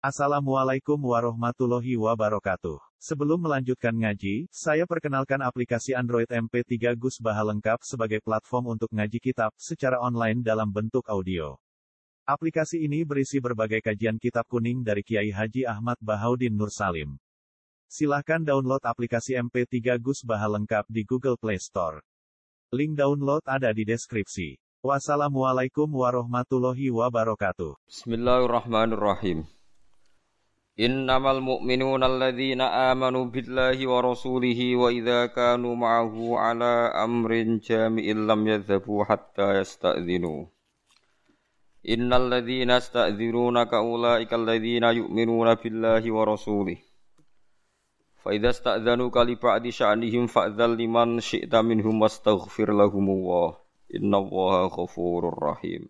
Assalamualaikum warahmatullahi wabarakatuh. Sebelum melanjutkan ngaji, saya perkenalkan aplikasi Android MP3 Gus Baha lengkap sebagai platform untuk ngaji kitab secara online dalam bentuk audio. Aplikasi ini berisi berbagai kajian kitab kuning dari Kiai Haji Ahmad Bahaudin Nur Salim. Silahkan download aplikasi MP3 Gus Baha lengkap di Google Play Store. Link download ada di deskripsi. Wassalamualaikum warahmatullahi wabarakatuh. Bismillahirrahmanirrahim. Innamal mu'minuna alladzina amanu billahi wa rasulihi wa idza kanu ma'ahu ala amrin jami'in lam yadhhabu hatta yasta'dhinu. Innal ladzina yasta'dhirunaka ulaika alladzina yu'minuna billahi wa rasulihi. Fa idza sta'dhanuka li ba'di sya'nihim fa'dzal liman syi'ta minhum wastaghfir lahumullah. Innallaha ghafurur rahim.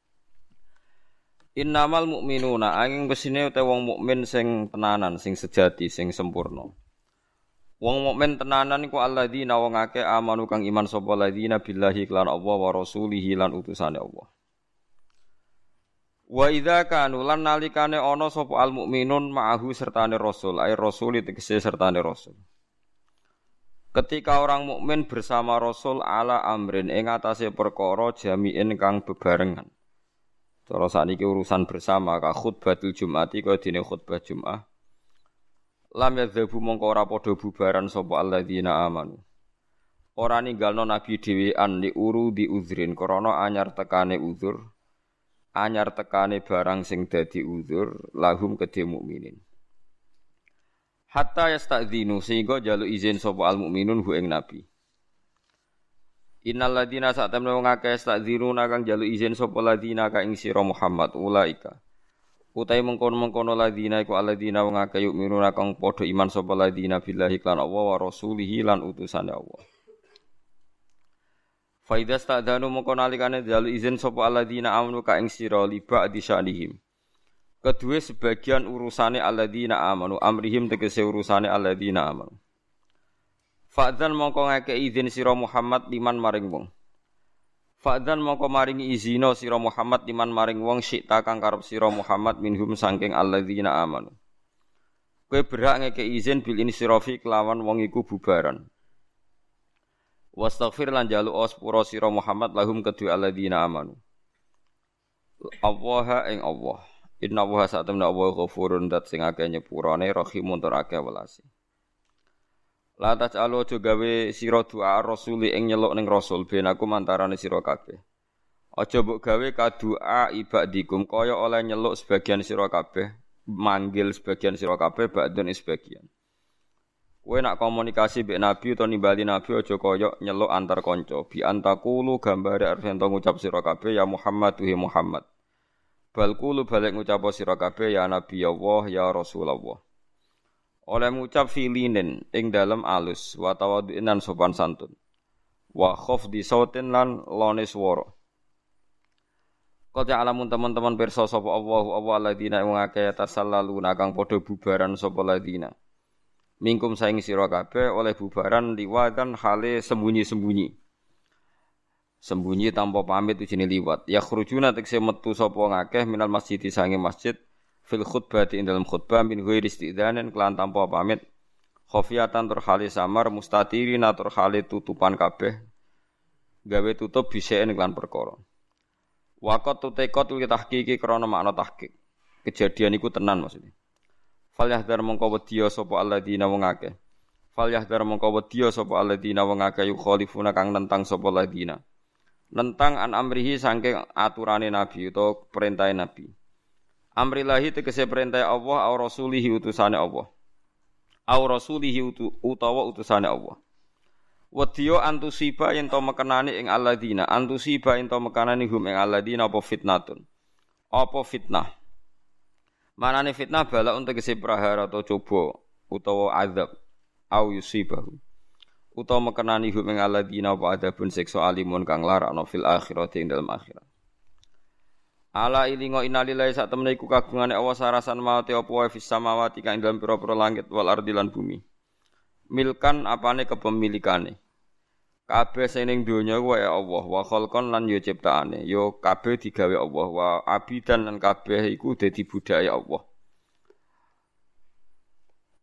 Innamal mu'minuna angin kesine utawa wong mukmin sing tenanan, sing sejati, sing sempurna. Wong mukmin tenanan iku alladzina wong akeh amanu kang iman sapa alladzina billahi lan Allah wa rasulihi lan utusane Allah. Wa idza kanu lan nalikane ana sapa al mukminun ma'ahu sertane rasul, ai rasul tegese sertane rasul. Ketika orang mukmin bersama rasul ala amrin ing atase perkara jami'in kang bebarengan. Cara sakniki urusan bersama ka khutbatul Jum'ati kaya dene khutbah Jum'ah. Lam yadzabu mongko ora padha bubaran sapa alladzina amanu. Ora ninggalno nabi dhewean li uru di uzrin krana anyar tekane uzur. Anyar tekane barang sing dadi uzur lahum kedhe mukminin. Hatta yasta'dzinu sehingga njaluk izin sapa al mukminun hu ing nabi. Innal ladzina sa'tamna wong akeh stadziruna kang njaluk izin sapa ladzina ka ing sira Muhammad ulaika. Utahe mengkono-mengkono ladzina iku alladzina wong akeh yu'minuna kang padha iman sapa ladzina billahi lan Allah wa rasulihi lan utusane Allah. Fa idza sta'dzanu mengko nalikane njaluk izin sapa alladzina amanu ka ing sira liba di sya'nihim. Kedue sebagian urusane alladzina amanu amrihim tegese urusane alladzina amanu. Fa'dzan mongko ngekeki izin sira Muhammad liman maring wong. Fa'dzan mongko maringi izina sira Muhammad liman maring wong syi'ta kang karep sira Muhammad minhum saking alladzina amanu. Kowe berhak ngekeki izin bil insirafi kelawan wong iku bubaran. Wastaghfir lan njaluk sepura sira Muhammad lahum kedue alladzina amanu. Allah ing Allah. Inna wa sa'tamna Allah ghafurun dat sing akeh nyepurane rahimun tur akeh welasi. La taj'alu aja gawe sira doa rasuli ing nyeluk ning rasul ben aku mantarane sira kabeh. Aja mbok gawe kadua ibadikum kaya oleh nyeluk sebagian sira kabeh, manggil sebagian sira kabeh ba'dun sebagian. Kowe nak komunikasi mbek nabi utawa nimbali nabi aja kaya nyeluk antar kanca. Bi antakulu gambare arep ento ngucap sira kabeh ya Muhammad tuhi Muhammad. Bal kulu balik ngucap sira kabeh ya Nabi Allah ya Rasulullah. Oleh ngucap filinin ing dalem alus wa tawadhu'an sopan santun. Wa khafdi sautin lan lone swara. Qad alamun teman-teman pirsa sapa Allahu alladzina wong akeh tasallaluna kang padha bubaran sapa ladina. Mingkum saing sira kabeh oleh bubaran liwadan hale sembunyi-sembunyi. Sembunyi tanpa pamit ujine liwat. Ya khurujuna tekse metu sapa ngakeh minal masjid sange masjid fil khutbati ing dalam khutbah min ghairi istidzanin kelan tanpa pamit khafiyatan tur hale samar mustatirin tur hale tutupan kabeh gawe tutup biseen kelan perkara. Waqat tutekot li tahqiqi krana makna tahqiq. Kejadian iku tenan maksudnya. Fal yahdar mongko wedya sapa alladzina wong akeh. Fal yahdar mongko wedya sapa alladzina wong akeh yukhalifuna kang nentang sapa alladzina. Nentang an amrihi saking aturane nabi utawa perintah nabi. Amrillahi tegese perintah Allah au rasulihi utusane Allah. Au rasulihi utawa utusane Allah. Wedya antusiba yen to mekenani ing alladzina, antusiba yen to mekenani hum ing alladzina apa fitnatun. Apa fitnah? Manane fitnah bala tegese prahara atau coba utawa azab au yusibahu. Utawa mekenani hum ing alladzina apa adabun siksa alimun kang larakno fil akhirati ing dalam akhirat. Ala ilingo innalillahi sak temene iku kagungane Allah sarasan mawate apa wae fis samawati kang dalam pira-pira langit wal ardi lan bumi. Milkan apane kepemilikane. Kabeh sing ning donya wae Allah wa khalqan lan yo ciptaane. Yo kabeh digawe Allah wa abidan lan kabeh iku dadi budaya Allah.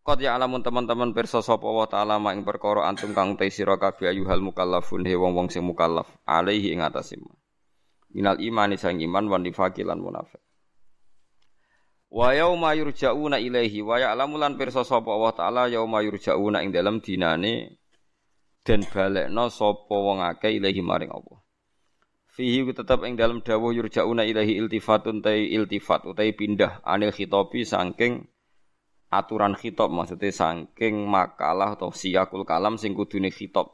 Qad ya'lamun teman-teman pirsa sapa wa ta'ala mak ing perkara antum kang te sira kabeh ayuhal mukallafun he wong-wong sing mukallaf alaihi ing atase minal imani sang iman wan nifaqi lan munafik. Wa yauma yurja'una ilaihi wa ya'lamu lan pirsa sapa Allah taala yauma yurja'una ing dalem dinane den balekna sapa wong akeh ilaihi maring Allah. Fihi tetep ing dalem dawuh yurja'una ilaihi iltifatun iltifat utawi pindah anil khitabi saking aturan khitab maksudnya saking makalah atau siyakul kalam sing kudune khitab.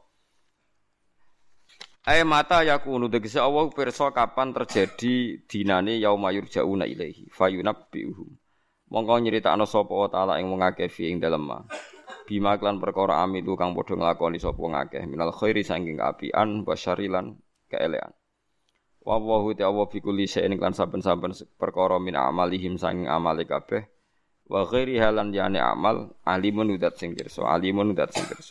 Ay mata yakunu tegese Allah pirsa kapan terjadi dinane yauma yurja'una ilaihi fayunabbiuhum. Mongko nyritakno sapa taala ing wong akeh fi ing dalem ma. Bima klan perkara amilu kang padha nglakoni sapa wong akeh minal khairi saking kaapian wasyarilan keelean. Wa Allahu ta'ala bi kulli shay'in klan saben-saben perkara min amalihim saking amale kabeh. Wa ghairi halan yani amal alimun udat sing pirsa alimun udat sing pirsa.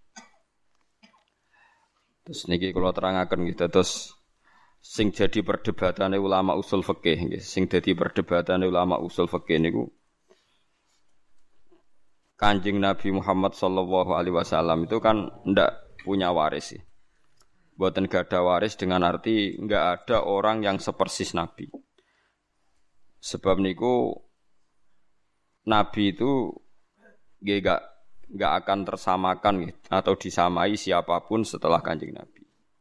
Terus niki kula terangaken nggih dados sing jadi perdebatane ulama usul fikih nggih sing dadi perdebatane ulama usul fikih niku Kanjeng Nabi Muhammad sallallahu alaihi wasallam itu kan ndak punya waris sih. Mboten gadah waris dengan arti enggak ada orang yang sepersis Nabi. Sebab niku Nabi itu enggak akan tersamakan gitu, atau disamai siapapun setelah Kanjeng Nabi.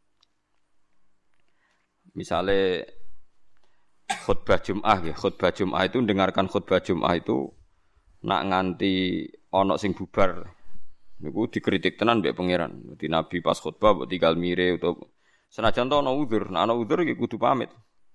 Misalnya khutbah Jum'ah ya, khutbah Jum'ah itu dengarkan khutbah Jum'ah itu nak nganti ana sing bubar. Niku dikritik tenan mbek pangeran. Dadi Nabi pas khutbah mbok tinggal mire utawa senajan to ana udzur, nek ana udzur iki kudu pamit.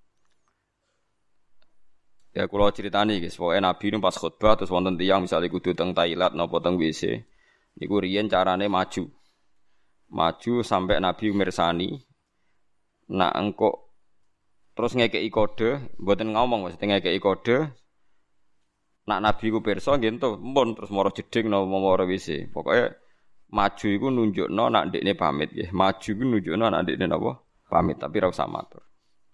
Ya kula critani guys, pokoke Nabi niku pas khutbah terus wonten tiyang misale kudu teng toilet napa teng WC. Niku riyen carane maju. Maju sampai Nabi mirsani. Nak engko terus ngekeki kode, mboten ngomong maksudnya ngekeki kode. Nak Nabi ku pirsa nggih ento, mpun terus mara jeding napa mara WC. Pokoke maju iku nunjukno nak ndekne pamit nggih. Maju iku nunjukno nak ndekne napa? Pamit, tapi ora usah matur.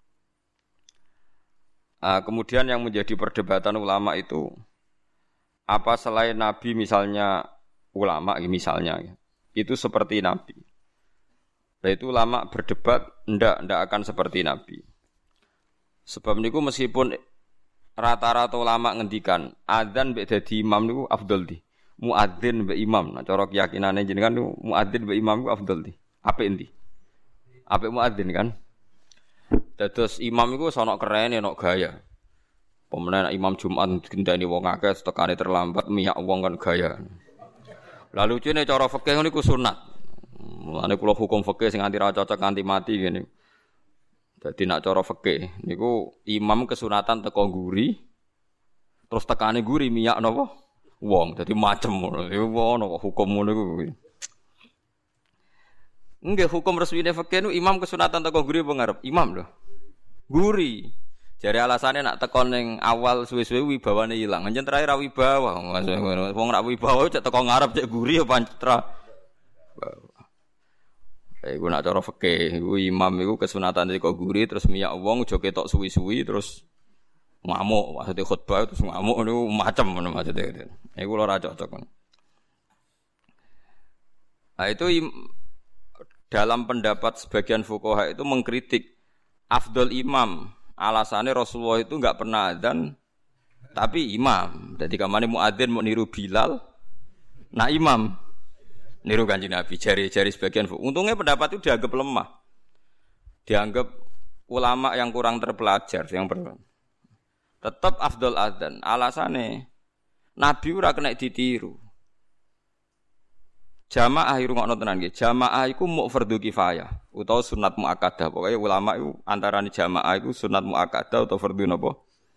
Kemudian yang menjadi perdebatan ulama itu apa selain Nabi misalnya ulama misalnya itu seperti Nabi. Nah itu ulama berdebat ndak akan seperti Nabi. Sebab niku meskipun rata-rata ulama ngendikan adzan mbek dadi imam niku afdal di. Muadzin mbek imam. Nah cara keyakinane jenengan niku muadzin mbek imam niku afdal di. Apik endi? Apik muadzin kan? Dados imam iku sono kerene ono gaya. Pemene imam Jumat gendani wong akeh tekane terlambat miyak wong kan gaya. Lalu lucune cara fikih niku sunat. Mulane kula hukum fikih sing anti ra cocok nganti mati ngene. Dadi nek cara fikih niku imam kesunatan teko nguri terus tekane nguri miyak napa wong. Dadi macem ngono. Iku ono hukum ngono iku. Nggih hukum resmine fikih niku imam kesunatan teko nguri apa ngarep? Imam lho. Nguri. Jare alasane nak teko ning awal suwe-suwe wibawane ilang. Anjen terakhir ra wibawa. Wong nak wibawa cek teko ngarep cek nguri apa pancetra. Iku nak cara fikih, iku imam iku kesunatan teko nguri terus miyak wong aja ketok suwi-suwi terus ngamuk, maksudnya khutbah terus ngamuk niku macem ngono maksudnya. Iku ora cocok. Nah itu dalam pendapat sebagian fuqaha itu mengkritik afdal imam. Alasannya Rasulullah itu enggak pernah adzan tapi imam. Jadi kamane muadzin mau niru Bilal, nah imam niru Kanjeng Nabi. Jari-jari sebagian fuqaha. Untungnya pendapat itu dianggap lemah. Dianggap ulama yang kurang terpelajar yang tetap afdal adzan. Alasannya Nabi ora kena ditiru. Jamaah irungokno tenan nggih. Jamaah iku muk fardhu kifayah utawa sunat muakkadah. Pokoke ulama iku antarane jamaah iku sunat muakkadah utawa fardhu napa?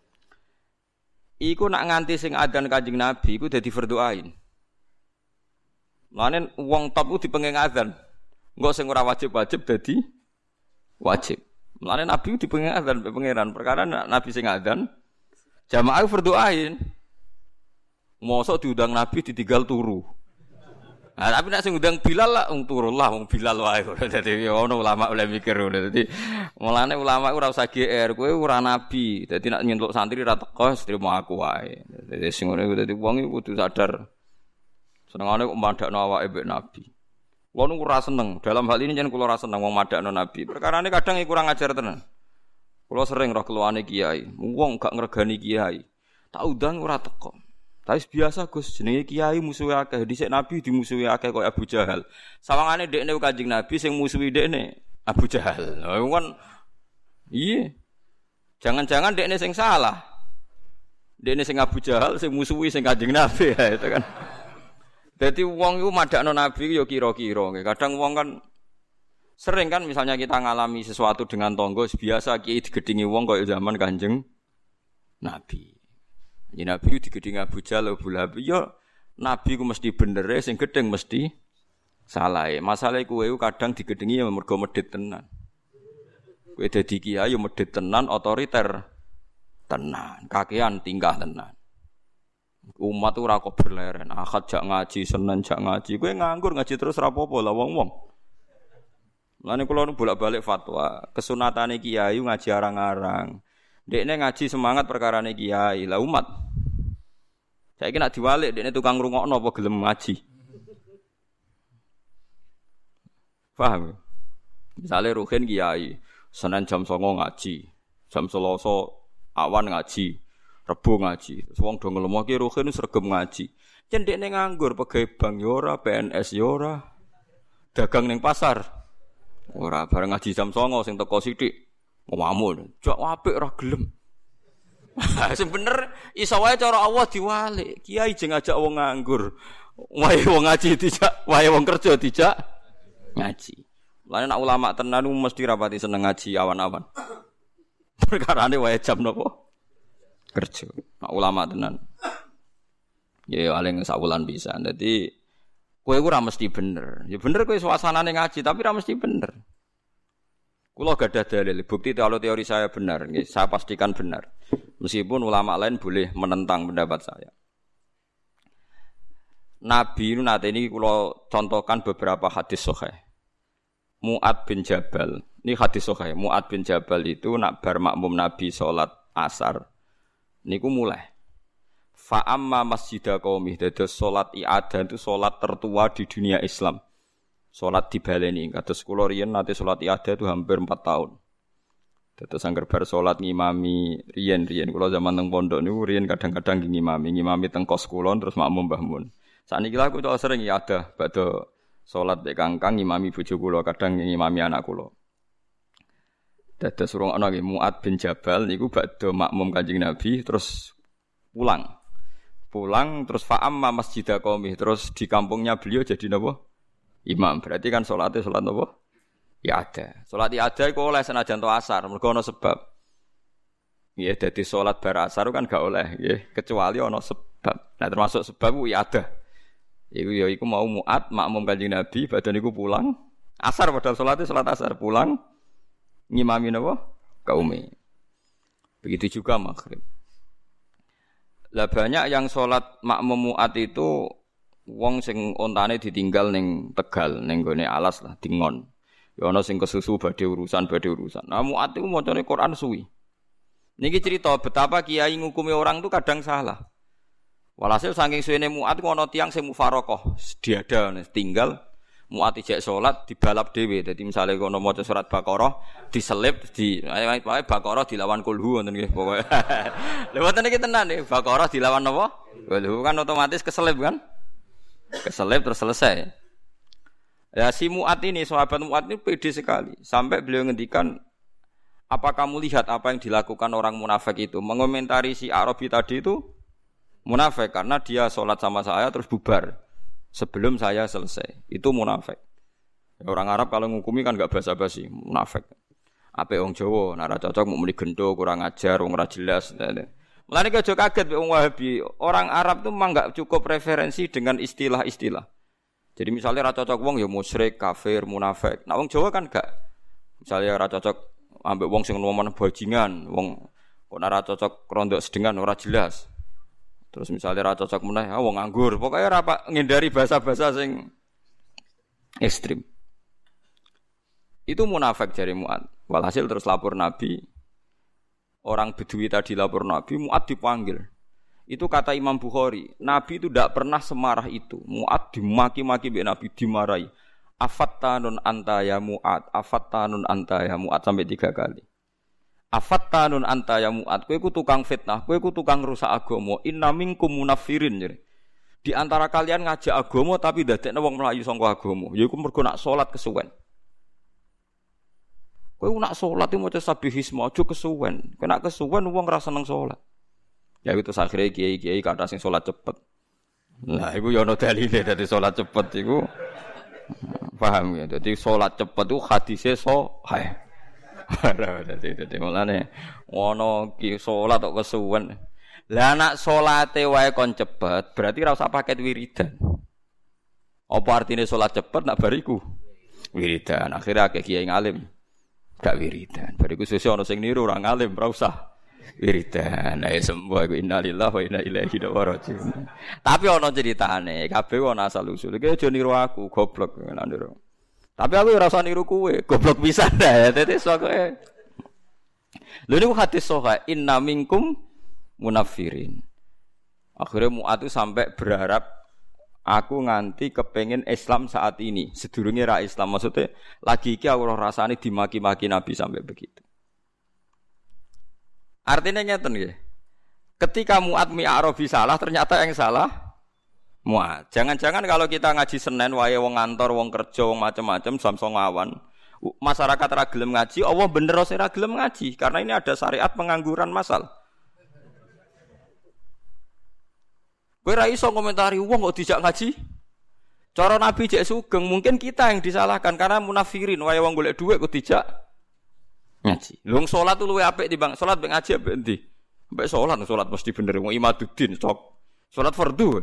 Iku nak nganti sing adzan Kanjeng Nabi iku dadi fardhu ain. Mulane wong top ku dipenging adzan. Engko sing ora wajib-wajib dadi wajib. Mulane Nabi dipenging adzan mbek pangeran. Perkara Nabi sing adzan jamaah fardhu ain. Mosok diundang Nabi ditinggal turu. Nah, tapi nek sing ngundang Bilal lah turun lah wong Bilal wae. Dadi ono ulama oleh mikir ngono. Dadi mulane ulama ora usah GR, kowe ora nabi. Dadi nek nyentuk santri ra teko trimo aku wae. Dadi sing ngono iku dadi wong iku kudu sadar Senengane kok madakno awake mbek Nabi. Kulo niku ora seneng. Dalam hal ini jen kulo ora seneng wong madakno Nabi. Perkarane kadang kurang ajar tenan. Kulo sering roh keluane kiai, wong gak ngregani kiai. Tak undang ora teko. Tapi biasa Gus, jenenge kiai musuhe akeh. Dhisik Nabi dimusuhi akeh koyo Abu Jahal. Sawangane dekne Kanjeng Nabi sing musuhi dekne Abu Jahal. Lha kan iya. Jangan-jangan dekne sing salah. Dekne sing Abu Jahal sing musuhi sing Kanjeng Nabi ya itu kan. Dadi wong iku madakno Nabi ya kira-kira. Kadang wong kan sering kan misalnya kita ngalami sesuatu dengan tonggo biasa kiai digedingi wong kaya zaman Kanjeng Nabi. Jadi Nabi digedingi Abu Jahal Abu Lahab ya Nabi ku mesti bener sing gedeng mesti salah. Masalahe kowe kadang digedingi ya mergo medhit tenan. Kowe dadi kiai ya medhit tenan, otoriter tenan, kakean tingkah tenan. Umat ora kok berleren, Ahad jak ngaji, Senin jak ngaji. Kowe nganggur ngaji terus ora apa-apa lah wong-wong. Lane kula nu bolak-balik fatwa, kesunatane kiai ngaji arang-arang. Dekne ngaji semangat perkarane kiai, lah umat. Saiki nek diwalik dekne tukang ngrungokno apa gelem ngaji. Paham? Misale Ruhin kiai, Senin jam 09.00 ngaji, jam Selasa awan ngaji. Rebo ngaji, wong do nglemoke Ruhin sregep ngaji. Yen dekne nganggur pegawai bank ya ora, PNS ya ora. Dagang ning pasar ora, bareng ngaji jam 09.00 sing teko sithik. Ngomong, "Jak apik ora gelem." Sing bener iso wae cara Allah diwalik. Kiai jeng ngajak wong nganggur. Wae wong ngaji dijak, wae wong kerja dijak ngaji. Lan nek ulama tenan mesti rapati seneng ngaji awan-awan. Perkarane wae jam nopo? Kerja. Nak ulama tenan. Ya paling sakulan bisa. Dadi kowe ora mesti bener. Ya bener kowe suasanane ngaji tapi ora mesti bener. Kula gadah dalil, bukti kalau teori saya benar, nggih, saya pastikan benar. Meskipun ulama lain boleh menentang pendapat saya. Nabi itu nate ini kula contohkan beberapa hadis sahih. Mu'ad bin Jabal. Ini hadis sahih. Mu'ad bin Jabal itu nak bar makmum Nabi salat asar. Niku mulai fa amma masjidah qaumih dados salat i'adah itu salat tertua di dunia Islam. Salat dibaleni kados kula riyen nate salat i'adah itu hampir 4 tahun. Dados angger bar salat ngimami riyen kula zaman teng pondok niku riyen kadang-kadang ngimami teng kos kula terus makmum Mbah Mun. Sakniki lha aku sering i'adah badhe salat mek kangkang ngimami bojo kula kadang ngimami anak kula. Dados urung ana nggih Mu'ad bin Jabal niku badhe makmum Kanjeng Nabi terus pulang terus fa'amma masjidah qaumih terus di kampungnya beliau jadi napa? Imam. Berarti kan salatnya salat napa? Ya ada. Salat ya ada iku oleh senajan to asar, mergo ana sebab. Nggih, dadi salat bar asar kan gak oleh nggih, kecuali ana sebab. Nah termasuk sebab ku ya ada. Iku ya iku mau Mu'ad makmum Kanjeng Nabi badhe niku pulang asar padahal salatnya salat asar pulang ngimami napa? Kaume. Begitu juga maghrib. Lah banyak yang salat makmum Mu'ad itu wong sing ontane ditinggal ning Tegal, ning gone alas lah dingon. Ya ana sing kesusu badhe urusan. Nah Mu'ad iku macane Quran suwi. Niki cerita betapa kiai ngukumi orang itu kadang salah. Walhasil saking suwene Mu'ad ku ana tiyang sing mufaraqah, diada tinggal Mu'ad ijek salat dibalap dhewe. Dadi misale kono maca surat Baqarah diselip ae Baqarah dilawan kulhu ngoten nggih pokoke. Lha wonten iki tenan nggih Baqarah dilawan napa? Kulhu kan otomatis keselip kan? Keselip terus selesai. Ya si Mu'ad ini sahabat Mu'ad ini pede sekali sampai beliau ngendikan apa kamu lihat apa yang dilakukan orang munafik itu? Mengomentari si Arabi tadi itu munafik karena dia salat sama saya terus bubar. Sebelum saya selesai, itu munafik. Orang Arab kalau ngukumi kan enggak basa-basi, munafik. Ape wong Jawa, nek ora cocok mau muni gendo, kurang ajar, wong ora jelas. Mulane aja kaget wong Wahabi. Orang Arab tuh memang enggak cukup referensi dengan istilah-istilah. Jadi misalnya ora cocok wong ya musyrik, kafir, munafik. Nah wong Jawa kan enggak. Misalnya ora cocok ambek wong sing ngomong bajingan, wong kok ora cocok rondok sedengan ora jelas. Terus misalnya ra cocok meneh, wong nganggur. Pokoke ora ngindari bahasa-bahasa sing ekstrem. Itu munafik jare Mu'ad. Walhasil terus lapor Nabi. Orang Bedui tadi lapor Nabi, Mu'ad dipanggil. Itu kata Imam Bukhari, Nabi itu tidak pernah semarah itu. Mu'ad dimaki-maki mbek Nabi dimarahi. Afattanun anta ya Mu'ad, afattanun anta ya Mu'ad sampai 3 kali. Afattanun anta ya Mu'ad, kowe iku tukang fitnah, kowe iku tukang rusak agama. Inna minkum munafirin. Di antara kalian ngajak agama tapi dadekne wong mlayu saka agama. Ya iku mergo nak salat kesuwen. Kowe nak salat iki maca sabihisma aja kesuwen. Kena kesuwen wong ora seneng salat. Ya itu akhirnya kiai-kiai kata sing salat cepet. Nah, iku ya ana dalile dadi salat cepet iku. Paham ya? Dadi salat cepet itu hadise sahih. Dadi mulane ana ki salat kok kesuwen. Lah nek salate wae kon cepet, berarti ora usah paket wiridan. Apa artine salat cepet nak bariku? Wiridan. Akhirnya akeh kiai ngalim gak wiridan. Bariku sesuk ana sing niru ora ngalim, ora usah wiridan. Ae sembuh iku innalillahi wa inna ilaihi raji'un. Tapi ana ceritane, kabeh ana asal usul. Iki aja niru aku, goblok nek niru. Tapi aku ora usah niru kowe, goblok pisan ya. Dadi sokoe. Lha niku hadis sahih, inna minkum munafirin. Akhirnya Mu'ad itu sampai berharap aku nganti kepengin Islam saat ini. Sedurunge ra Islam, maksudnya lagi iki aku rasane dimaki-maki Nabi sampai begitu. Artinya ngeten nggih. Ketika Mu'ad mi'arabi salah, ternyata yang salah Mu'ad. Jangan-jangan kalau kita ngaji Senin wae wong ngantor, wong kerja, wong macam-macam samsung awan, masyarakat ra gelem ngaji, Allah bener ora ra gelem ngaji karena ini ada syariat pengangguran masal. Kowe ra iso komentari wong kok dijak ngaji. Cara Nabi jek sugeng, mungkin kita yang disalahkan karena munafirin wae wong golek dhuwit kok dijak ngaji. Lung salat lu luwih apik timbang salat mek ngaji apik endi? Mbek salat mesti bener wong imaduddin cok. Salat fardu.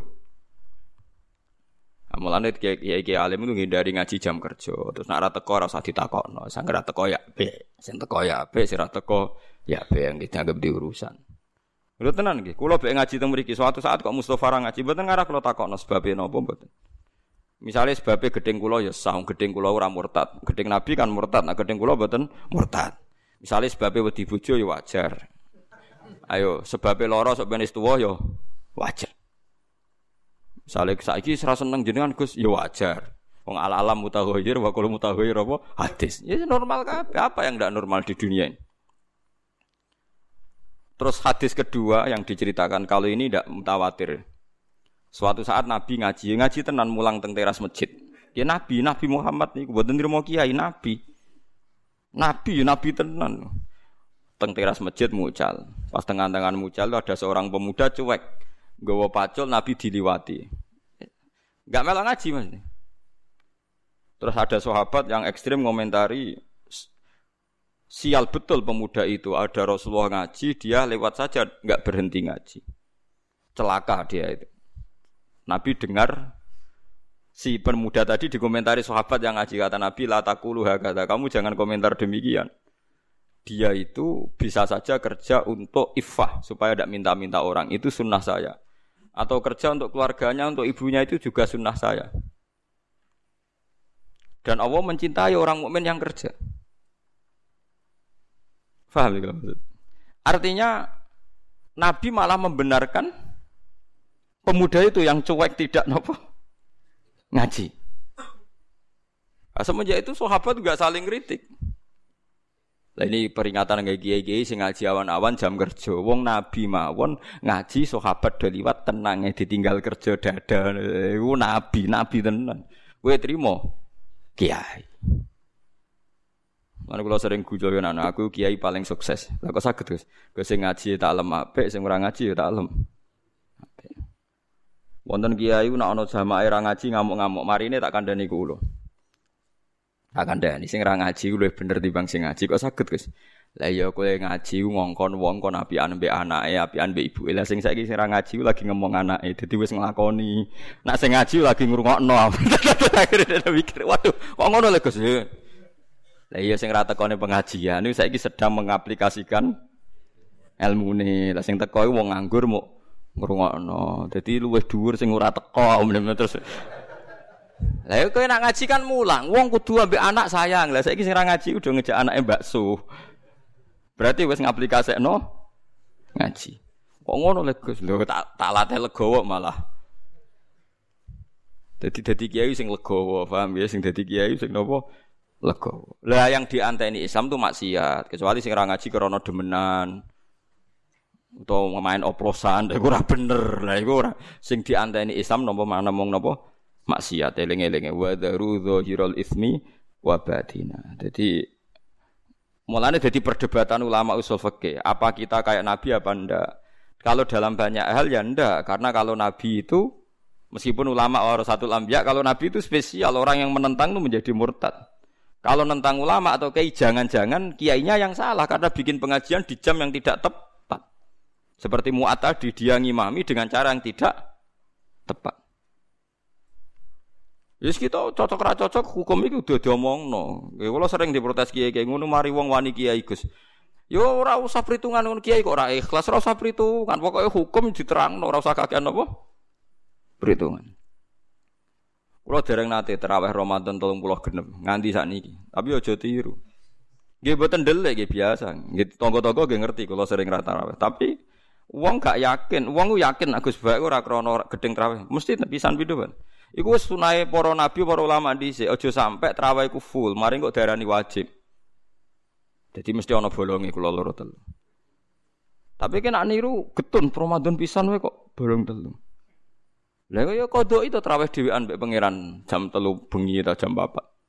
Amulane kiai-kiai alim itu ngindari ngaji jam kerja. Terus nek ora teko ora usah ditakokno. Sing ora teko ya apik. Sing teko ya apik, sing ora teko ya apik yang dianggap diurusan. Lho tenan nggih, kula mek ngaji teng mriki suatu saat kok Mustofa ra ngaji mboten ngarah kula takokno sebabe napa mboten. Misale sebabe gedeng kula ya sah, gedeng kula ora murtad. Gedeng Nabi kan murtad, nek gedeng kula mboten murtad. Misale sebabe wedi bojo ya wajar. Ayo, sebabe lara sok ben wis tuwa ya wajar. Misale saiki ora seneng jenengan Gus ya wajar. Wong al-alam mutaghayyir wa kullu mutaghayyir apa hadis. Ya normal kabeh, apa yang ndak normal di dunia ini. Terus hadis kedua yang diceritakan kalau ini ndak mutawatir. Suatu saat Nabi ngaji tenan mulang teng teras masjid. Ya Nabi Muhammad niku mboten nrimo kiai Nabi tenan. Teng teras masjid mucal. Pas tengah-tengah mucal ada seorang pemuda cuek. Nggawa pacul Nabi diliwati. Enggak melok ngaji Mas. Terus ada sahabat yang ekstrem ngomentari sial betul pemuda itu. Ada Rasulullah ngaji, dia lewat saja enggak berhenti ngaji. Celaka dia itu. Nabi dengar si pemuda tadi dikomentari sahabat yang ngaji, kata Nabi la taqulu hakadha, kamu jangan komentar demikian. Dia itu bisa saja kerja untuk iffah supaya tidak minta-minta orang, itu sunnah saya. Atau kerja untuk keluarganya, untuk ibunya, itu juga sunnah saya. Dan Allah mencintai orang mukmin yang kerja. Faham ya maksud? Artinya Nabi malah membenarkan pemuda itu yang cuek tidak ngaji. Semenjak itu sahabat juga saling kritik. Lah ini peringatan nggih kiai-kiai sing ngaji awan-awan jam kerja. Wong Nabi mawon ngaji sahabat do liwat tenange ditinggal kerja dadah. Iku nabi tenan. Kowe trimo kiai. Lan kula sering guyon anak aku kiai paling sukses. Lah kok saged Gus? Gus sing ngaji tak lem apik, sing ora ngaji ya tak lem. Wonten kiai nek ana jamaah ra ngaji ngamuk-ngamuk, marine tak kandhani kula. Tak kandhani sing ra ngaji luwih bener timbang sing ngaji kok saged Gus. Lah ya kowe ngaji ngongkon wong kon apian mbek anake, apian mbek ibuke. Lah sing saiki sing ra ngaji lagi ngomong anake, dadi wis nglakoni. Nek sing ngaji lagi ngrungokno. Akhire mikir, waduh, kok ngono lho Gus. Lah iya sing ra tekone pengajian niku saiki sedang mengaplikasikan ilmune. Lah sing teko iku wong nganggur muk ngrungokno. Dadi luwih dhuwur sing ora teko terus. Lah kowe nak ngaji kan mulang, wong kudu ambek anak sayang. Lah saiki sing ra ngaji udah ngejak anake bakso. Berarti wis ngaplikasekno ngaji. Kok ngono lek Gus? Lho tak latih legowo malah. Dadi kiai sing legowo, paham ya sing dadi kiai sing napa? Legowo. Lah yang dianteni Islam tuh maksiat, kecuali sing ora ngaji krana demenan. Utawa main oplosan, iku ora bener. Lah iku ora sing dianteni Islam napa mana mung napa? Maksiat eling-elinge wa daru dzahirul ismi wa batina. Jadi mulane dadi perdebatan ulama usul fikih, apa kita kayak nabi apa ndak? Kalau dalam banyak hal ya ndak, karena kalau nabi itu meskipun ulama warasatul anbiya, kalau nabi itu spesial, orang yang menentang itu menjadi murtad. Kalau nentang ulama atau kiai jangan-jangan kiainya yang salah karena bikin pengajian di jam yang tidak tepat. Seperti Mu'ad tadi dia ngimami dengan cara yang tidak tepat. Yes kita cocok ra cocok hukum iki udah diomongno. Ya kula sering diprotes kiai-kiai ngono mari wong wani kiai Gus. Yo ora usah perhitungan ngono kiai kok ora ikhlas, ora usah perhitungan. Pokoke hukum diterangno ora usah kakean apa? Perhitungan. Kula dereng nate tarawih Ramadan 30 genep nganti sakniki. Tapi aja tiru. Nggih mboten ndelik nggih biasa. Nggih tangga-tangga nggih ngerti kula sering ra tarawih. Tapi wong gak yakin, wong ku yakin Agus bae ora krana gedeng tarawih. Mesti pisan pindho, Pak. Iku wis sunahe para nabi, para ulama dhisik, aja sampe tarawih iku full, mari kok darani wajib. Jadi mesti ana bolonge kula loro telu. Tapi kena niru getun Ramadan pisan wae kok bolong telu. Lah kok ya kodok itu tarawih dhewean mbek pangeran jam 3 bengi ta jam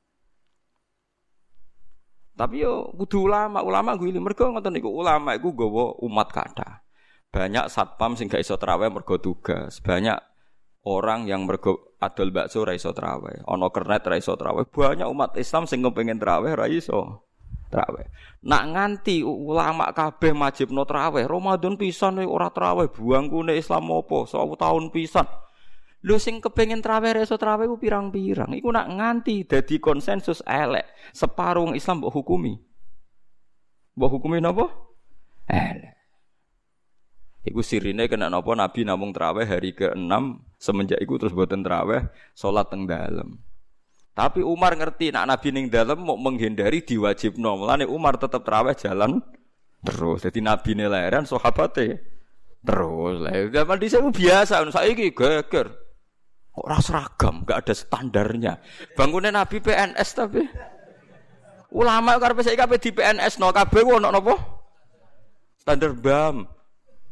4. Tapi yo kudu ulama guyu mergo ngoten niku ulama iku nggawa umat kathah. Banyak satpam sing gak iso tarawih mergo tugas, banyak orang yang mergo adol bakso ra iso traweh, ana kernet ra iso traweh. Banyak umat Islam sing kepengin traweh ra iso traweh. Nak nganti ulama kabeh majibno traweh, Ramadan pisan ora traweh, buangkune Islam apa? 1000 tahun pisan. Lho sing kepengin traweh ra iso traweh ku pirang-pirang. Iku nak nganti dadi konsensus elek, separuh Islam mbok hukumi. Mbok hukumi napa? Elek. Iku sirine kena napa Nabi namung traweh hari ke-6 semenjak iku terus boten traweh salat teng dalem. Tapi Umar ngerti nek Nabi ning dalem mau menghindari diwajibno. Mulane Umar tetep traweh jalan terus. Dadi nabine lahiran sahabate terus. Lah zaman dhisik biasa saiki geger. Kok ora seragam, enggak ada standarnya. Bangkune Nabi PNS tapi ulama karepe saiki kabeh di PNS no kabeh ku ono napa? Standar BAM.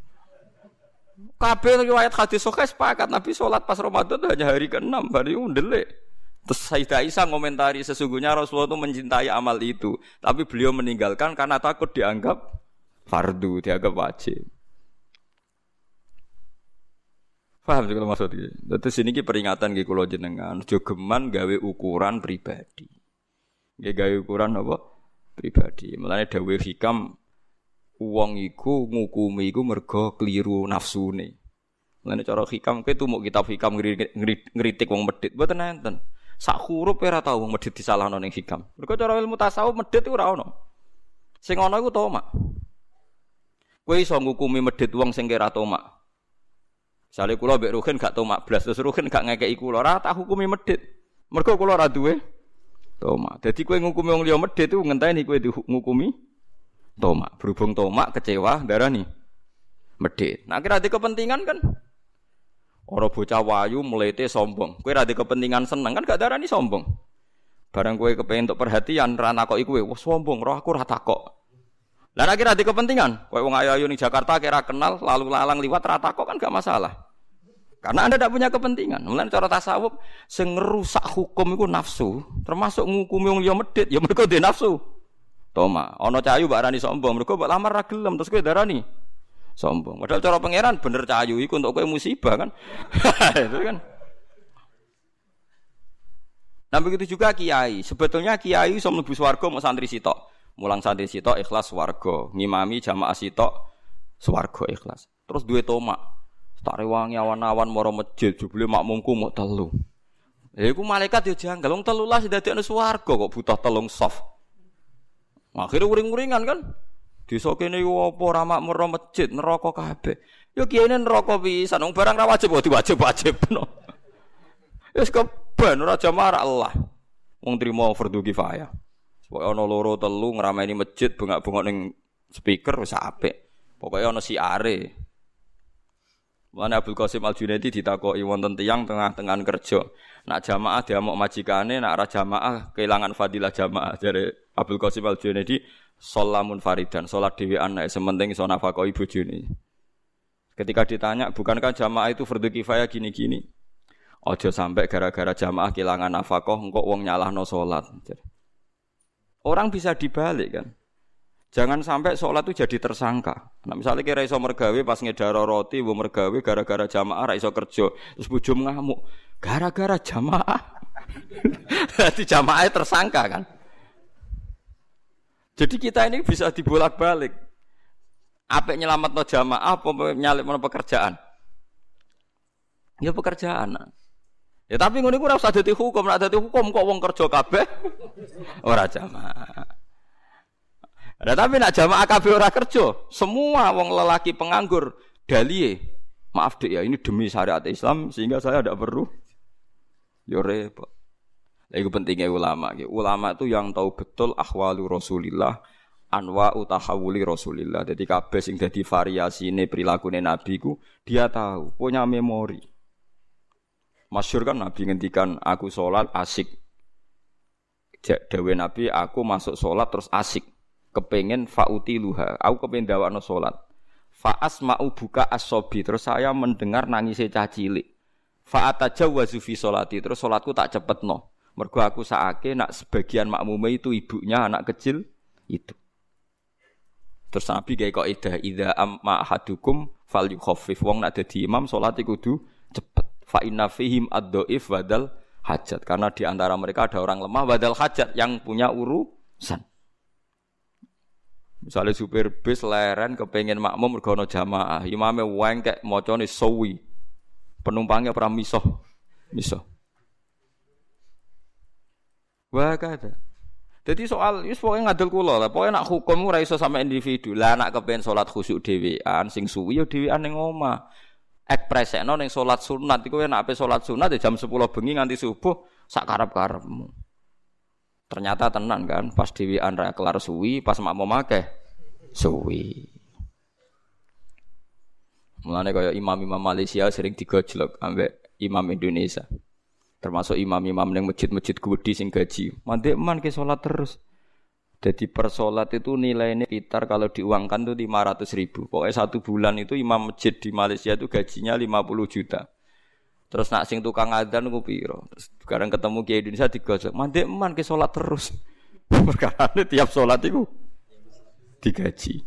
Kabeh riwayat hadis sahih sepakat Nabi salat pas Ramadan hanya hari ke-6, hari ndelik. Terus Sayyidah Aisyah ngomentari sesungguhnya Rasulullah itu mencintai amal itu, tapi beliau meninggalkan karena takut dianggap fardu, dianggap wajib. Paham sih kalau maksudnya? Terus ini ki peringatan ki kula jenengan, aja geman gawe ukuran pribadi. Nggih gawe ukuran apa? Pribadi. Mulane dawuh hikam wong iku ngukumi iku mergo kliru nafsune. Mulane cara hikam kowe tumuk kitab hikam ngritik wong medhit mboten enten. Sak huruf ora tau wong medhit disalahno ning hikam. Mergo cara ilmu tasawuf medhit iku ora ono. Sing ana iku tomak. Kowe iso ngukumi medhit wong sing ora tomak. Misale kula mbek Ruhin gak tomak blas terus Ruhin gak ngekeki kula ora tak hukumi medhit. Mergo kula ora duwe tomak. Dadi kowe ngukumi wong liya medhit iku ngenteni kowe ngukumi tomak. Berhubung tomak kecewa darani medhit. Nah kira ada kepentingan kan ora bocah wayu mlete sombong. Kowe ra ada kepentingan seneng kan gak darani sombong. Barang kowe kepengin untuk perhatian ra nakoki kowe, wah sombong, roh aku ra takok. Lah nek kira ada kepentingan, kowe wong ayu-ayu ning Jakarta kira kenal lalu lalang liwat ra takok kan gak masalah. Karena Anda tidak punya kepentingan. Mulane cara tasawuf sing ngerusak hukum iku nafsu, termasuk ngukumi wong liya medhit ya mergo dhe nafsu. Toma, ana cahayu mbak arani sombong, mergo mbok lamar ra gelem terus kowe darani sombong. Padahal cara pangeran bener cahayu iku untuk kowe musibah kan. Itu kan. Nah begitu juga kiai. Sebetulnya kiai iso mlebu swarga mau santri sitok. Mulang santri sitok ikhlas swarga, ngimami jamaah sitok swarga ikhlas. Terus duwe tomak. Tak rewangi awan-awan maro masjid, jebule makmumku mau telu. Iku malaikat yo janggal, wong 13 dadekne swarga kok butuh telung soft. Akhire uring-uringan kan. Desa kene iku apa ora makmur masjid, neraka kabeh. Yo kiyaine neraka pisan, wong barang ra wajib kok diwajib-wajibno. Wis keben ora jamaah Allah. Wong trimo fardhu kifayah. Pokoke ana loro telu ngrameni masjid bengak-bengok ning speaker wis apik. Pokoke ana siare. Mulane Abdul Qasim Al-Junaidi ditakoki wonten tiyang tengah-tengah kerja. Nak jamaah diamuk majikane, nak ora jamaah kehilangan fadilah jamaah. Jare Abdul Qasim Al-Junaidi sholamun faridan, salat dhewean nek sementing iso nafkahi bojone. Ketika ditanya, bukankah jamaah itu fardhu kifayah gini-gini? Aja sampai gara-gara jamaah kehilangan nafkah engko wong nyalahno salat. Orang bisa dibalik kan. Jangan sampai sholat itu jadi tersangka. Nah, misalnya kira iso mergawe pas ngedaro roti, bu mergawe gara-gara jamaah ra iso kerja, terus bojo ngamuk. Gara-gara jamaah. Jadi jamaahnya tersangka kan. Jadi kita ini bisa dibolak-balik. Apa nyelametno jamaah apa nyalipno pekerjaan? Ya pekerjaan. Ya tapi ngono iku ora usah dadi hukum, nek dadi hukum kok wong kerja kabeh ora jamaah. Nah, tapi nak jamaah kabeh ora kerja, semua wong lelaki penganggur daliye. Maaf Dek ya, ini demi syariat Islam sehingga saya tidak perlu. Yo repot. Lah iku pentingnya ulama. Ulama itu yang tahu betul ahwalu Rasulillah, anwa utahawuli Rasulillah. Jadi kabeh sing dadi variasine prilakune Nabi ku dia tahu, punya memori. Masyhur kan Nabi ngendikan aku salat asik. Dawe Nabi aku masuk salat terus asik. Kepengen fautiluha, aku kepengen ndawakno salat. Fa asma'u buka as-sobi, terus saya mendengar nangise cah cilik. Fa atajawwazu fi sholati, terus salatku tak cepetno. Mergo aku sakake nak sebagian makmume itu ibunya anak kecil itu. Terus Nabi gawe kaidah idza amma ahadukum falyukhaffif, wong nak dadi imam salat iku kudu cepet. Fa inna fihim ad-dhaif wadal hajat, karena di antara mereka ada orang lemah wadal hajat yang punya urusan. Misalnya supir bis leren kepengen makmum mergo ana jamaah, imame wengkek macane sawi. Penumpangnya ora misoh. Wah kada. Jadi soal wis pokoke ngadil kula lah, pokoke nak hukum ora iso sampe individu. Lah nak kepen salat khusyuk dhewean sing suwi ya dhewean ning omah. Ekspresekno ning salat sunat iku nek ape salat sunat ya jam 10 bengi nganti subuh sak karep-karepmu. Ternyata tenan kan, pas dhewean ra kelar suwi, pas makmum akeh suwi. Mulane kaya imam-imam Malaysia sering digojlok ambek imam Indonesia. Termasuk imam-imam ning masjid-masjid gedhe sing gaji. Mandek man ke salat terus. Jadi per salat itu nilainya sekitar kalau diuangkan tuh 500.000. Pokoknya 1 bulan itu imam masjid di Malaysia itu gajinya 50 juta. Terus nak sing tukang adzan ku piro? Terus sekarang ketemu Kiai Indonesia digojok. Mandek man ke salat terus. Perkarane tiap salat iku digaji.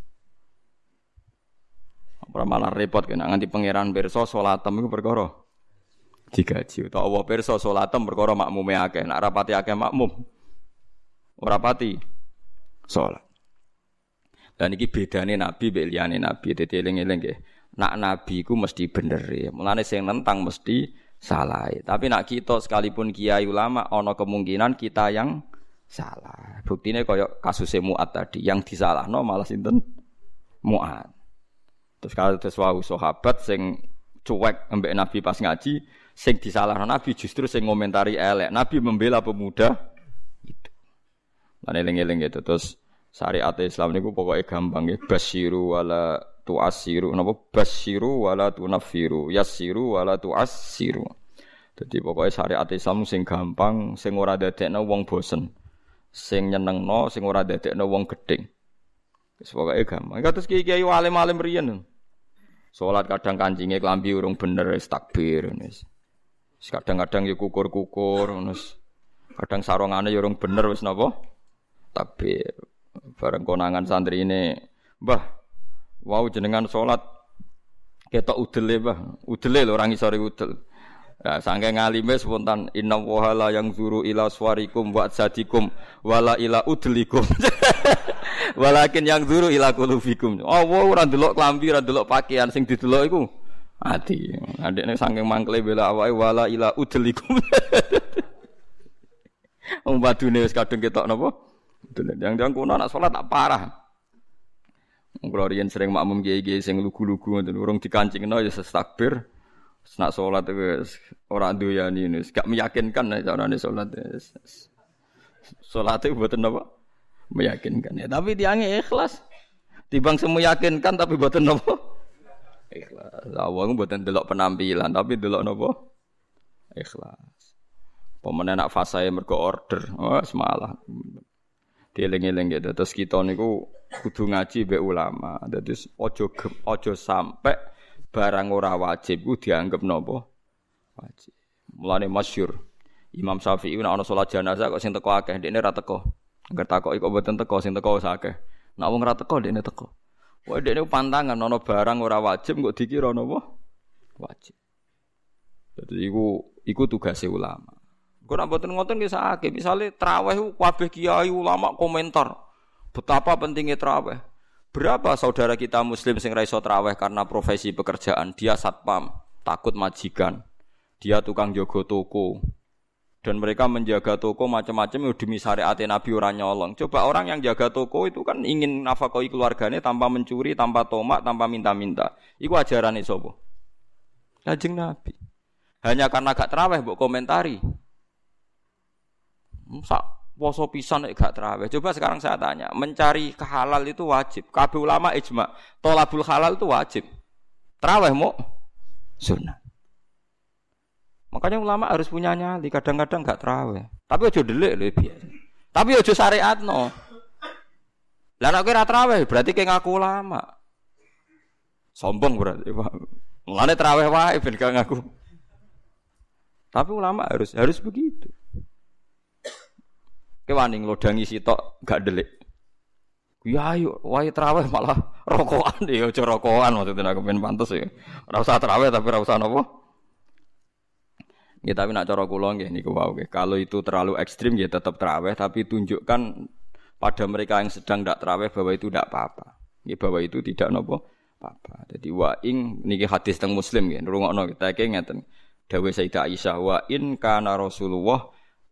Ora malah repot kena nganti pangeran pirsa salatem iku perkara digaji. Utawa Allah pirsa salatem perkara makmume akeh. Nak rapati akeh makmum ora pati salat. Dan iki bedane nabi mbek liyane nabi. Dadi eling-eling nggih. Nak nabi ku mesti bener ya. Mulane sing nentang mesti salah. Tapi nak kita sekalipun kiai ulama ana kemungkinan kita yang salah. Buktine kaya kasus Mu'ad tadi, yang disalahno malah sinten? Mu'ad. Terus kalau terus wau sahabat sing cuek ambek nabi pas ngaji, sing disalahno nabi justru sing ngomentari elek. Nabi membela pemuda itu. Lan eling-eling gitu. Terus syariat Islam niku pokoke gampang nggih. Basyiru wala tu'assiru, napa basyiru wala tunaffiru, yassiru wala tu'assiru. Dadi pokoke syariat Islam sing gampang, sing ora dadekno wong bosen, sing nyenengno, sing ora dadekno wong gedeng. Wis pokoke gampang. Kados kiai-kiai alim-alim riyen. Salat kadang kancinge klambi urung bener wis takbir wis. Kadang-kadang ya kukur-kukur wis. Kadang sarungane ya urung bener wis napa? Takbir. Bareng konangan santri ini, "Mbah, wau jenengan salat ketok udele, Mbah. Udele lho orang isore udel." Nah, saking ngalime spontan inna wa la yang zuru ila swarikum wa sadikum wala ila udlikum. Walakin yang zuru ila qulubikum. Oh, ora ndelok klambi, ora ndelok pakaian sing didelok iku ati. Adekne saking mangkle bela awake wala ila udlikum. Wong badune wis kadung ketok napa? Yang kono anak salat tak parah. Kula riyen sering makmum kiai-kiai sing lugu-lugu ngoten urung dikancingno ya takbir. Nak salat wis ora doyani wis gak meyakinkan carane salat. Salate mboten napa? Meyakinkan. Ya tapi tiange ikhlas. Timbang semeyakinkan tapi mboten napa? Ikhlas. Lah wong mboten delok penampilan, tapi delok napa? Ikhlas. Pemene nak fasae mergo order. Oh, semalah. Dieling-eling gitu. Terus kita niku kudu ngaji mbek ulama. Dadi aja sampai barang ora wajib ku dianggap napa? Wajib. Mulane masyhur Imam Syafi'i nek ana salat jenazah kok sing teko akeh, ndekne ra teko. Angger takoki kok mboten teko, sing teko akeh. Nek wong ra teko ndekne teko. Wae ndekne pantangan ana barang ora wajib kok dikira napa? Wajib. Dadi iku tugase ulama. Kok nek mboten ngoten nggih sakake, misale traweh kabeh kiai ulama komentar betapa pentingnya traweh. Berapa saudara kita muslim sing ra iso traweh karena profesi pekerjaan, dia satpam, takut majikan. Dia tukang jaga toko. Dan mereka menjaga toko macam-macam demi syariat Nabi ora nyolong. Coba orang yang jaga toko itu kan ingin nafkahi keluarganya tanpa mencuri, tanpa tomak, tanpa minta-minta. Iku ajarane sapa? Kanjeng Nabi. Hanya karena gak traweh mbok komentari. Sak poso pisan nek gak traweh. Coba sekarang saya tanya, mencari halal itu wajib. Kabeh ulama ijma, thalabul halal itu wajib. Traweh mau sunnah. Makanya ulama harus punya nyali, kadang-kadang gak traweh. Tapi aja delik lho biasa. Tapi aja syariatno. Lah nek ora traweh berarti ke ngaku ulama. Sombong berarti, Pak. Mulane traweh wae ben gak ngaku. Tapi ulama harus begitu. Wani nglodangi sitok gak delik. Ya ayo wae traweh malah rokokan ya aja rokokan maksudnya aku ben pantes ya. Ora usah traweh tapi ora usah napa. Ya tapi nak cara kula nggih niku wae nggih. Kalau itu terlalu ekstrim ya tetap traweh tapi tunjukkan pada mereka yang sedang ndak traweh bahwa itu ndak apa-apa. Nggih bahwa itu tidak napa apa-apa. Jadi wa ing niki hadis teng Muslim nggih. Ngrungokno kita iki ngeten. Dawuh Sayyidah Aisyah wa in kana Rasulullah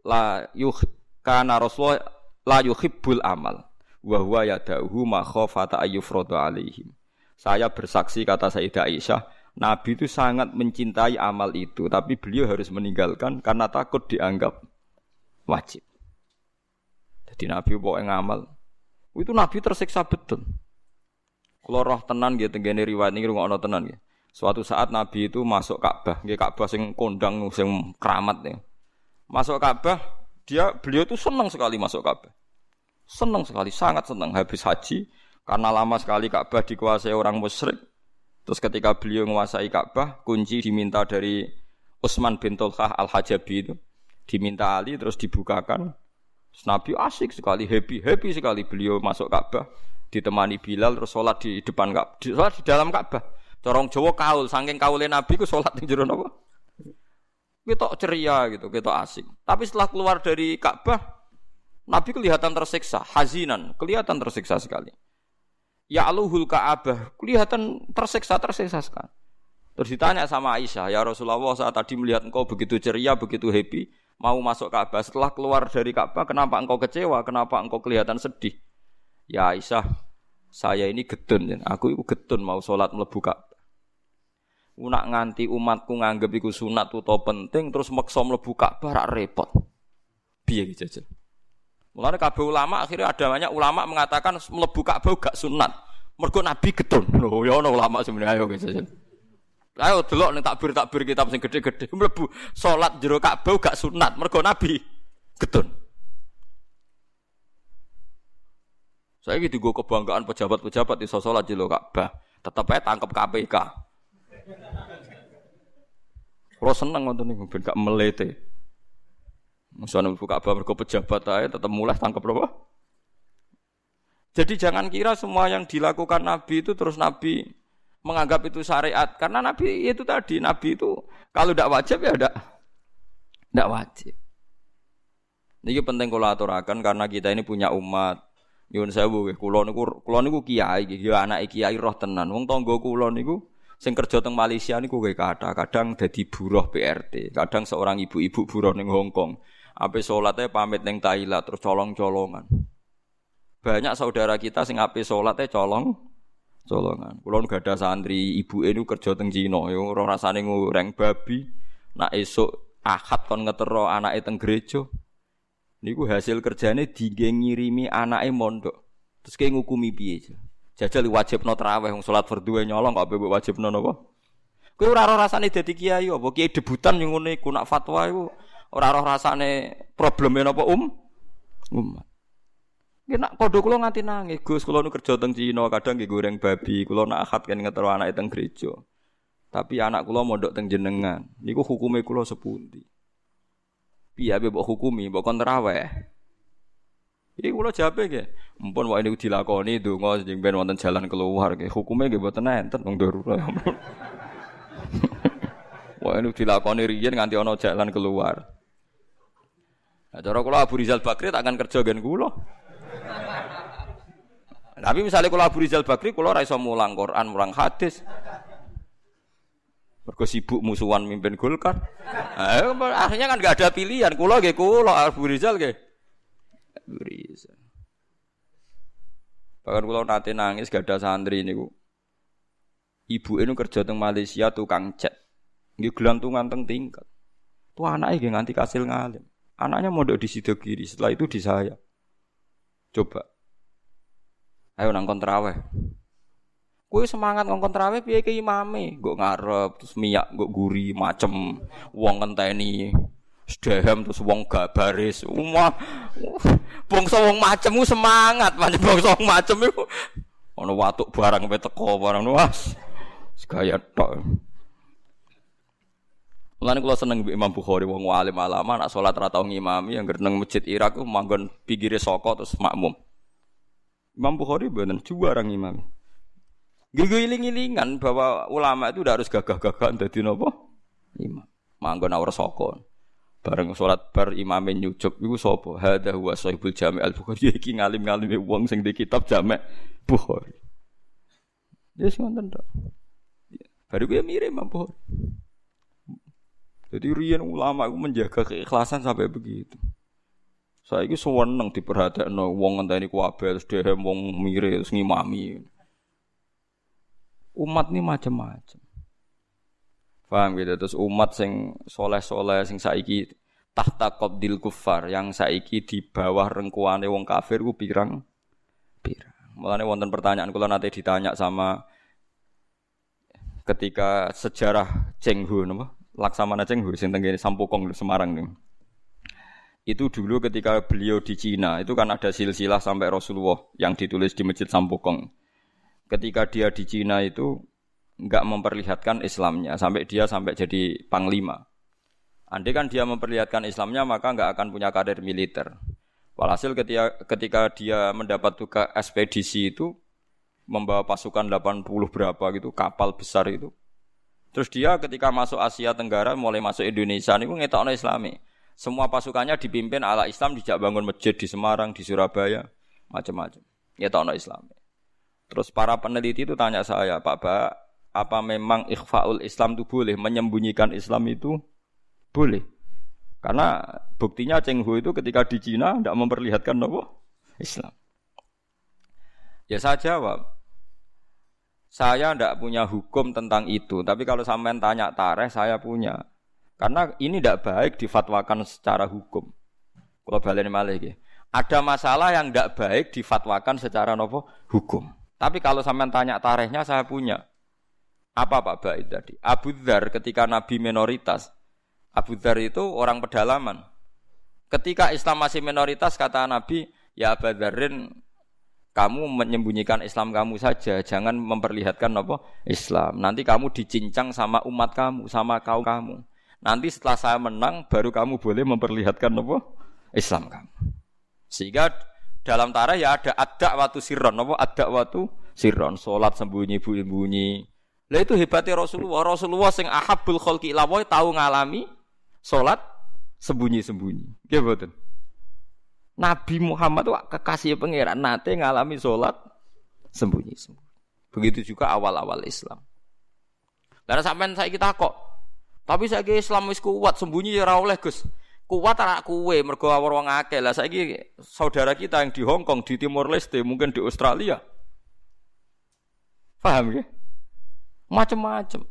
kana Rasulullah la yuhibbul amal wa huwa yad'uhu ma khafata ayyufradu alaihim. Saya bersaksi kata Sayyidah Aisyah, Nabi itu sangat mencintai amal itu, tapi beliau harus meninggalkan karena takut dianggap wajib. Jadi Nabi pokoke ngamal. Itu Nabi tersiksa betul. Kalau roh tenan nggih tenggene riwayat niki rungokno tenan nggih. Suatu saat Nabi itu masuk Ka'bah, nggih Ka'bah sing kondang sing keramat ya. Masuk Ka'bah beliau itu senang sekali masuk Ka'bah. Senang sekali, sangat senang habis haji karena lama sekali Ka'bah dikuasai orang musyrik. Terus ketika beliau menguasai Ka'bah, kunci diminta dari Utsman bin Tulhah Al-Hajabi itu. Diminta Ali terus dibukakan. Terus Nabi asik sekali, happy sekali beliau masuk Ka'bah, ditemani Bilal terus salat di depan Ka'bah, salat di dalam Ka'bah. Corong Jawa kaul, saking kaule Nabi ku salat ning jero napa? Ketok ceria gitu, ketok asik. Tapi setelah keluar dari Ka'bah, Nabi kelihatan tersiksa, hazinan, kelihatan tersiksa sekali. Ya aluhul Ka'bah, kelihatan tersiksa sekali. Terus ditanya sama Aisyah, ya Rasulullah saat tadi melihat engkau begitu ceria, begitu happy, mau masuk Ka'bah. Setelah keluar dari Ka'bah, kenapa engkau kecewa? Kenapa engkau kelihatan sedih? Ya Aisyah, saya ini gedun, aku itu gedun mau sholat mlebu Ka'bah. Nak nganti umatku nganggep iku sunat utawa penting terus maksa mlebu Ka'bah rak repot. Piye iki jajal? Mulane kabeh ulama akhirnya ada banyak ulama mengatakan mlebu Ka'bah gak sunat. Mergo Nabi getun. Lho ya ana ulama sebenarnya ayo jajal. Ayo delok ning takbir kitab sing gede-gede mlebu salat jero Ka'bah gak sunat mergo Nabi getun. Saiki digo kebanggaan pejabat-pejabat iso salat jero Ka'bah, tetep ae tangkep KPK. Kalau seneng ngoten niku ben gak melete. Musane buka Ka'bah mergo pejabat ae tetep mulai tangkep apa? Jadi jangan kira semua yang dilakukan Nabi itu terus Nabi menganggap itu syariat karena Nabi itu tadi Nabi itu kalau tidak wajib ya tidak wajib. Niki penting kula aturaken karena kita ini punya umat. Nyuwun sewu nggih kula niku kiai nggih ya anake kiai roh tenan. Wong tangga kula niku sing kerja teng Malaysia niku nggih kadang dadi buruh PRT, kadang seorang ibu-ibu buruh ning Hong Kong. Ape salate pamit ning Thailand terus colong-colongan. Banyak saudara kita sing ape salate colongan. Kula nu gadah santri, ibuke niku kerja teng Cina, ya ora rasane ngoreng babi. Nak esuk Ahad kon ngetero anake teng gereja. Niku hasil kerjane ngirimi anake mondok. Terus ke ngukumi piye? Jajal wajibno tarawih wong salat fardhu nyolong kok mbok wajibno napa? Kowe ora ora rasane dadi kiai apa kiai debutan yang ngene iku nak fatwa iku ora ora rasane probleme napa umat. Nggih nak padha kula nganti nangis, Gus, kula nu kerja teng Cina, kadang nggih goreng babi, kula nak akad kan ngetero anake teng gereja. Tapi anak kula mondok teng jenengan, niku hukume kula sepundi? Piye ape mbok hukumi, mbok kon tarawih? Iki kula jawabe nggih, mumpun wae niku dilakoni donga sing ben wonten jalan keluar nggih, hukume nggih mboten enten wong darurat. Wah ini dilakoni riyen nganti ana jalan keluar. Nah, cara kula Abu Rizal Bakri tak akan kerja gen kula. Tapi misalnya kula Abu Rizal Bakri kula ora iso mulang Quran, mulang hadis. Mergo sibuk musuhan mimpin Golkar. Nah, akhirnya kan enggak ada pilihan. Kula nggih kula Abu Rizal nggih. Abu Rizal. Bahkan kula nate nangis gak ada santri niku. Ibuke nu kerja teng Malaysia tukang cat. Nggih gelantungan teng tingkat. Tuh anake nggih nganti kasil ngalim. Anaknya mondok di Sidogiri, setelah itu di saya. Coba. Ayo nang kon tarawih. Kowe semangat ngongkon tarawih piye ke imame? Nggo ngarep terus miyak nggo guri macem wong ngenteni. Sedhem terus wong gak baris. Bangsa wong macem ku semangat, pancen bangsa wong macem iku ana watuk barang pe teko barang was. Segaya tok. Mulane kula seneng mbek Imam Bukhari wong alim alama nak salat ra tau ngimami anggere nang masjid Irak ku manggon pinggire saka terus makmum. Imam Bukhari bener juara ngimami. Giling-gilingan bahwa ulama itu udah harus gagah-gagahan dadi napa? Imam. Manggon ora saka. Bareng salat bar imame nyucuk iku sapa? Hadza huwa Sahibul Jami' Al-Bukhari iki ngalim-ngalime wong sing di kitab Jami' Bukhari. Yes ngoten tok. Baru kuwi mirip Imam Bukhari. Jadi riyen ulama itu menjaga keikhlasan sampai begitu. Saiki seneng diperhatekno wong ngenteni kuwabe sedhem wong mire terus ngimami. Umat ini macam-macam. Paham gitu terus umat sing soleh-soleh sing saiki tahta qabdil kuffar yang saiki di bawah rengkuane wong kafir ku pirang. Mulane wonten pertanyaan kula nate ditanya sama ketika sejarah Cheng Ho napa? Laksamana Cheng Ho sing tenggene Sampokong Semarang niku. Itu dulu ketika beliau di Cina, itu kan ada silsilah sampai Rasulullah yang ditulis di Masjid Sampokong. Ketika dia di Cina itu enggak memperlihatkan Islamnya sampai jadi panglima. Andai kan dia memperlihatkan Islamnya maka enggak akan punya karir militer. Walhasil ketika dia mendapat tugas ekspedisi itu membawa pasukan 80 berapa gitu kapal besar itu. Terus dia ketika masuk Asia Tenggara mulai masuk Indonesia niku ngetokno Islami. Semua pasukannya dipimpin ala Islam, dijak bangun masjid di Semarang, di Surabaya, macam-macam. Ngetokno Islami. Terus para peneliti itu tanya saya, Pak Ba, apa memang ikhfaul Islam itu boleh? Menyembunyikan Islam itu boleh? Karena buktinya Cheng Ho itu ketika di Cina tidak memperlihatkan apa? Islam. Ya saya jawab. Saya tidak punya hukum tentang itu, tapi kalau sampean tanya tarikh saya punya. Karena ini tidak baik difatwakan secara hukum. Kalau baleni malih iki. Ada masalah yang tidak baik difatwakan secara nopo hukum. Tapi kalau sampean tanya tarikhnya saya punya. Apa Pak Baid tadi? Abu Dzar ketika Nabi minoritas. Abu Dzar itu orang pedalaman. Ketika Islam masih minoritas kata Nabi, ya Abu Dzarrin kamu menyembunyikan Islam kamu saja, jangan memperlihatkan apa Islam. Nanti kamu dicincang sama umat kamu, sama kaum kamu. Nanti setelah saya menang, baru kamu boleh memperlihatkan apa Islam kamu. Sehingga dalam tarikh ya ada ad-da'watu sirron, apa ad-da'watu sirron, salat sembunyi-sembunyi. Lah itu hebatnya Rasulullah. Rasulullah sing ahabbul khalqi ila wa tahu ngalami salat sembunyi-sembunyi. Nggih mboten? Nabi Muhammad itu kekasih pangeran nate ngalami salat sembunyi-sembunyi. Begitu juga awal-awal Islam. Lah sampean saiki takok. Tapi saiki Islam wis kuat sembunyi ya ora oleh, Gus. Kuat anak kuwe mergo wong akeh. Lah saiki saudara kita yang di Hong Kong, di Timor Leste, mungkin di Australia. Paham nggih? Macam-macam.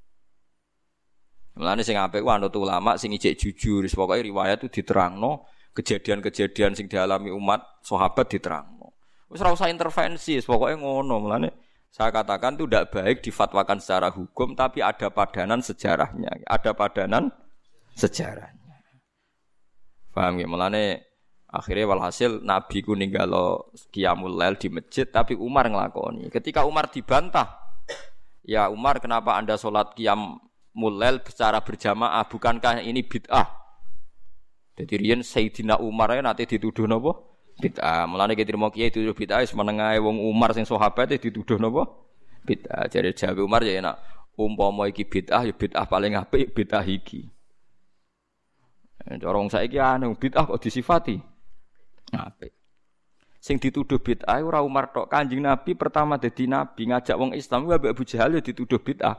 Mulane sing apik ku anut ulama sing ijek jujur, pokoke riwayat itu diterangno. Kejadian-kejadian sing dialami umat sahabat diterangno. Wis ora usah intervensi, pokoknya ngono. Mulane saya katakan itu tidak baik difatwakan secara hukum, tapi ada padanan sejarahnya. Ada padanan sejarahnya. Paham ya? Mulane akhirnya walhasil Nabi ku ninggalo qiyamul lail di masjid, tapi Umar ngelakoni. Ketika Umar dibantah, ya Umar kenapa Anda sholat qiyamul lail secara berjamaah? Bukankah ini bid'ah? Jadi riyen Sayyidina Umar nanti dituduh napa? Bid'ah. Mulane kita mau kiai dituduh bid'ah wis menengahe wong Umar sing sahabat dituduh napa? Bid'ah. Jadi jawabe Umar ya enak. Umpama iki bid'ah ya bid'ah paling apik bid'ah iki. Cara wong saiki anu bid'ah kok disifati apik. Sing dituduh bid'ah ora Umar tok, Kanjeng Nabi pertama dadi nabi ngajak wong Islam Abu Jahal ya dituduh bid'ah.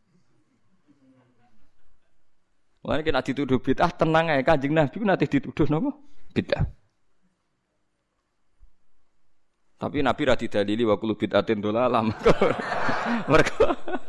Mulane nek dituduh bid'ah tenang ae Kanjeng Nabi ku nate dituduh napa? Bid'ah. Tapi Nabi ra didalili wa kullu bid'atin dhalalah. Mergo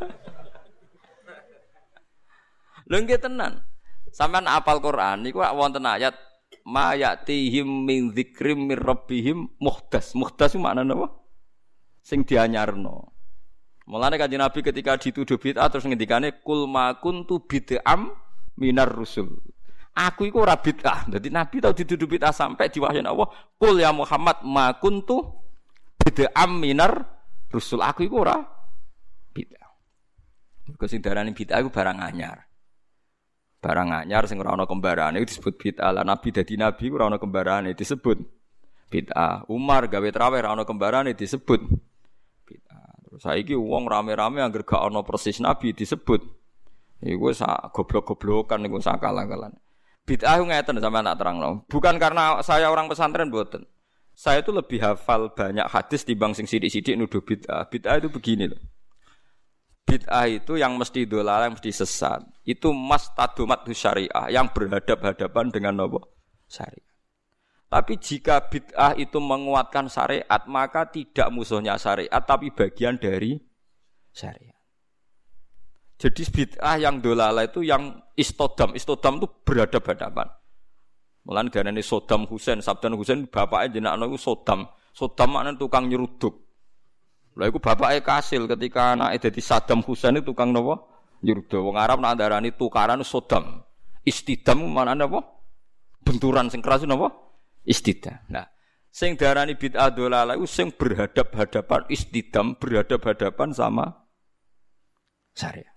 lho nggih tenan. Sampeyan apal Quran niku wonten ayat ma ya'tihim min dzikrim mir rabbihim muhdas. Muhdas ku maknane apa? Sing dianyarno. Mulane Kanjeng Nabi ketika dituduh bid'ah terus ngendikane kul ma kuntu bid'am minar rusul. Aku iku ora bid'ah. Dadi Nabi tau dituduh bid'ah sampai diwahyani Allah, "Qul ya Muhammad ma kuntu bid'am minar rusul." Aku iku ora bid'ah. Mergo sing darani bid'ah iku barang anyar. Barang anyar sing ora ana kembarane disebut bid'ah. Lah Nabi dadi nabi ora ana kembarane disebut bid'ah. Umar gawe traweh ora ana kembarane disebut bid'ah. Terus saiki wong rame-rame anggere gak ana persis nabi disebut iku sak goblok-goblokan niku sak kalah-kalan. Bid'ah ngeten sampeyan tak terangno. Bukan karena saya orang pesantren mboten. Saya itu lebih hafal banyak hadis timbang sing sithik-sithik nuduh bid'ah. Bid'ah itu begini loh. Bid'ah itu yang mesti dolal, yang mesti sesat. Itu mastadumat syariah yang berhadap-hadapan dengan apa? Syariah. Tapi jika bid'ah itu menguatkan syariat, maka tidak musuhnya syariat, tapi bagian dari syariat. Jadi bid'ah yang dolal itu yang istodam. Istodam itu berhadap-hadapan. Mulane diarani Saddam Hussein, Saddam Hussein bapake jenenge iku Saddam. Saddam maknane tukang nyeruduk. Lha iku bapake kasil ketika anake dadi Saddam Hussein itu tukang napa? Nyeruduk. Wong Arab nak ndarani tukaran Saddam. Istidam maknane apa? Benturan sing keras napa? Istidam. Nah, sing diarani bid'ah dolalah iku sing berhadap-hadapan istidam, berhadap-hadapan sama syariat.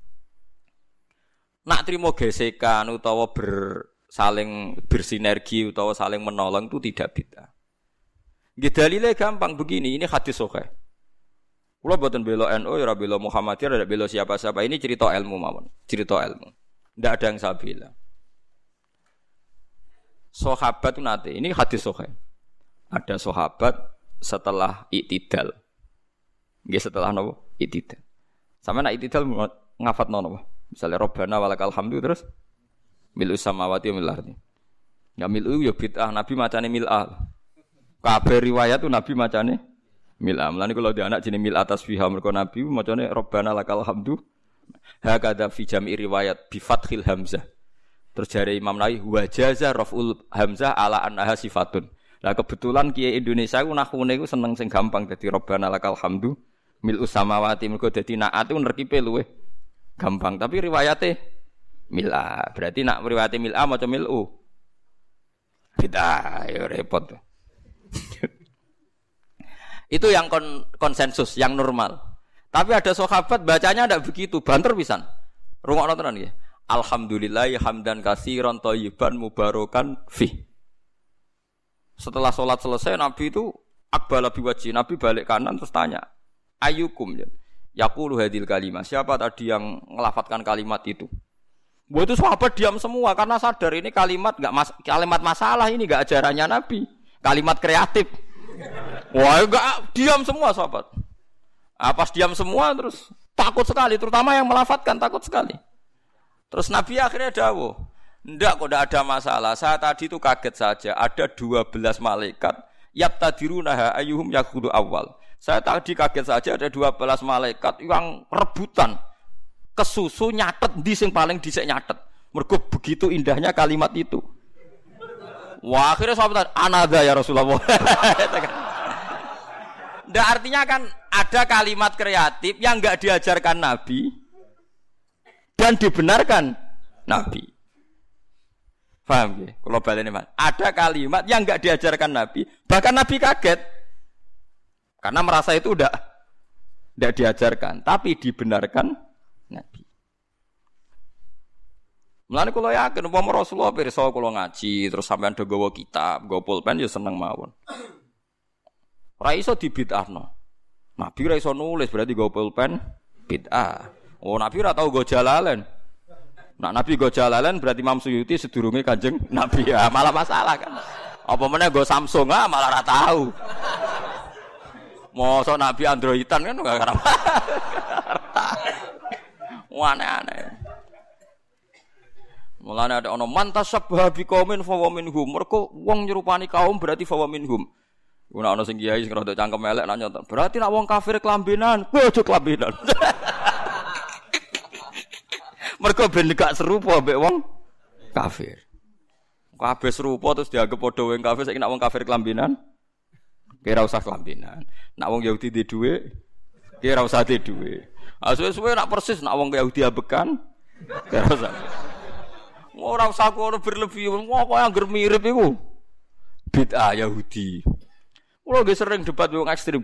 Nak trimo gesekan utawa saling bersinergi utawa saling menolong itu tidak bid'ah. Nggih dalile gampang begini, ini hadis sahih. Kula boten bela NU ya ora bela Muhammadiyah, ora bela siapa-siapa. Ini cerita ilmu mawon, cerita ilmu. Ndak ada yang saya bela. Sahabat itu nanti, ini hadis sahih. Ada sahabat setelah i'tidal. Nggih setelah napa? I'tidal. Sampe nek i'tidal ngafatno napa? Misalnya Rabbana walakal hamdu terus mil'u samawati wa mil'ul ardi. Ya mil'u ya bid'ah, Nabi macane mil'ah. Kabeh riwayat tu Nabi macane mil'ah. Mulane kalau dia anak jenenge mil'ah tasbihah mergo Nabi macane Rabbana lakal hamdu. Hakadha fi jam'i riwayat bi fathil hamzah. Terus jare Imam Nawawi wa jaza raf'ul hamzah ala annaha sifatun. Lah kebetulan kiai Indonesia ku nahune ku seneng sing gampang dadi Rabbana lakal hamdu mil'u samawati mergo dadi naat ku nerkipe luweh gampang, tapi riwayate mil'ah. Berarti nak riwayate mil'ah maca mil'u. Bid'ah, ya repot. Itu yang konsensus, yang normal. Tapi ada sahabat bacanya ndak begitu, banter pisan. Rungokno tenan nggih. Alhamdulillah hamdan katsiran thayyiban mubarakan fi. Setelah salat selesai Nabi itu aqbala biwajhi, Nabi balik kanan terus tanya, "Ayyukum?" Yaqulu hadil kalimah. Siapa tadi yang ngelafatkan kalimat itu? Buat itu sahabat diam semua karena sadar ini kalimat kalimat masalah, ini enggak ajarannya Nabi. Kalimat kreatif. Wah, enggak diam semua sahabat. Pas diam semua terus takut sekali, terutama yang melafatkan takut sekali. Terus Nabi akhirnya dawuh, "Enggak kok enggak ada masalah. Saya tadi itu kaget saja. Ada 12 malaikat yabtadirunaha ayyuhum yakhudhu awal. Saya tadi kaget saja ada 12 malaikat yang rebutan kesusu nyatet di sing paling dhisik nyatet. Mergo begitu indahnya kalimat itu. Wah, akhirnya sahabat anadha ya Rasulullah. Ndak artinya kan ada kalimat kreatif yang enggak diajarkan Nabi dan dibenarkan Nabi. Paham ya? Kalau baleni Mas, ada kalimat yang enggak diajarkan Nabi, bahkan Nabi kaget. Karena merasa itu enggak diajarkan, tapi dibenarkan Nabi. Mulane kula yakin umpama Rasulullah pirsa kula ngaji terus sampean do gawa kitab, gawa pulpen ya seneng mawon. Ora iso dibid'ahno. Nabi ora iso nulis berarti gawa pulpen bid'ah. Oh, Nabi ora tau gawa jalalain. Nah, Nabi gawa jalalain berarti Imam Suyuti sedurunge Kanjeng Nabi ya, malah masalah kan. Apa meneh gawa Samsung malah ora tau. Mosok Nabi Androidan kan enggak karep. Aneh-aneh. Mulane ada ana mantasabbaha biqaumin fa wa minhum. Mergo wong nyerupani kaum berarti fa wa minhum. Ora ana sing kiai sing rada cangkem elek nak nyoto. Berarti nak wong kafir kelambenan, ojo kelambenan. Mergo ben gak serupa mbek wong kafir. Kabeh serupa terus dianggap padha wong kafir, saiki nak wong kafir kelambenan, kira usah kelambenan. Nak wong Yahudi di dhuwit, kira usah di dhuwit. Suwe-suwe nak persis nak wong Yahudi abekan, kira usah. Ora usah kono berlebih, kok angger mirip iku. Bid'ah Yahudi. Kulo nggih sering debat wong ekstrem.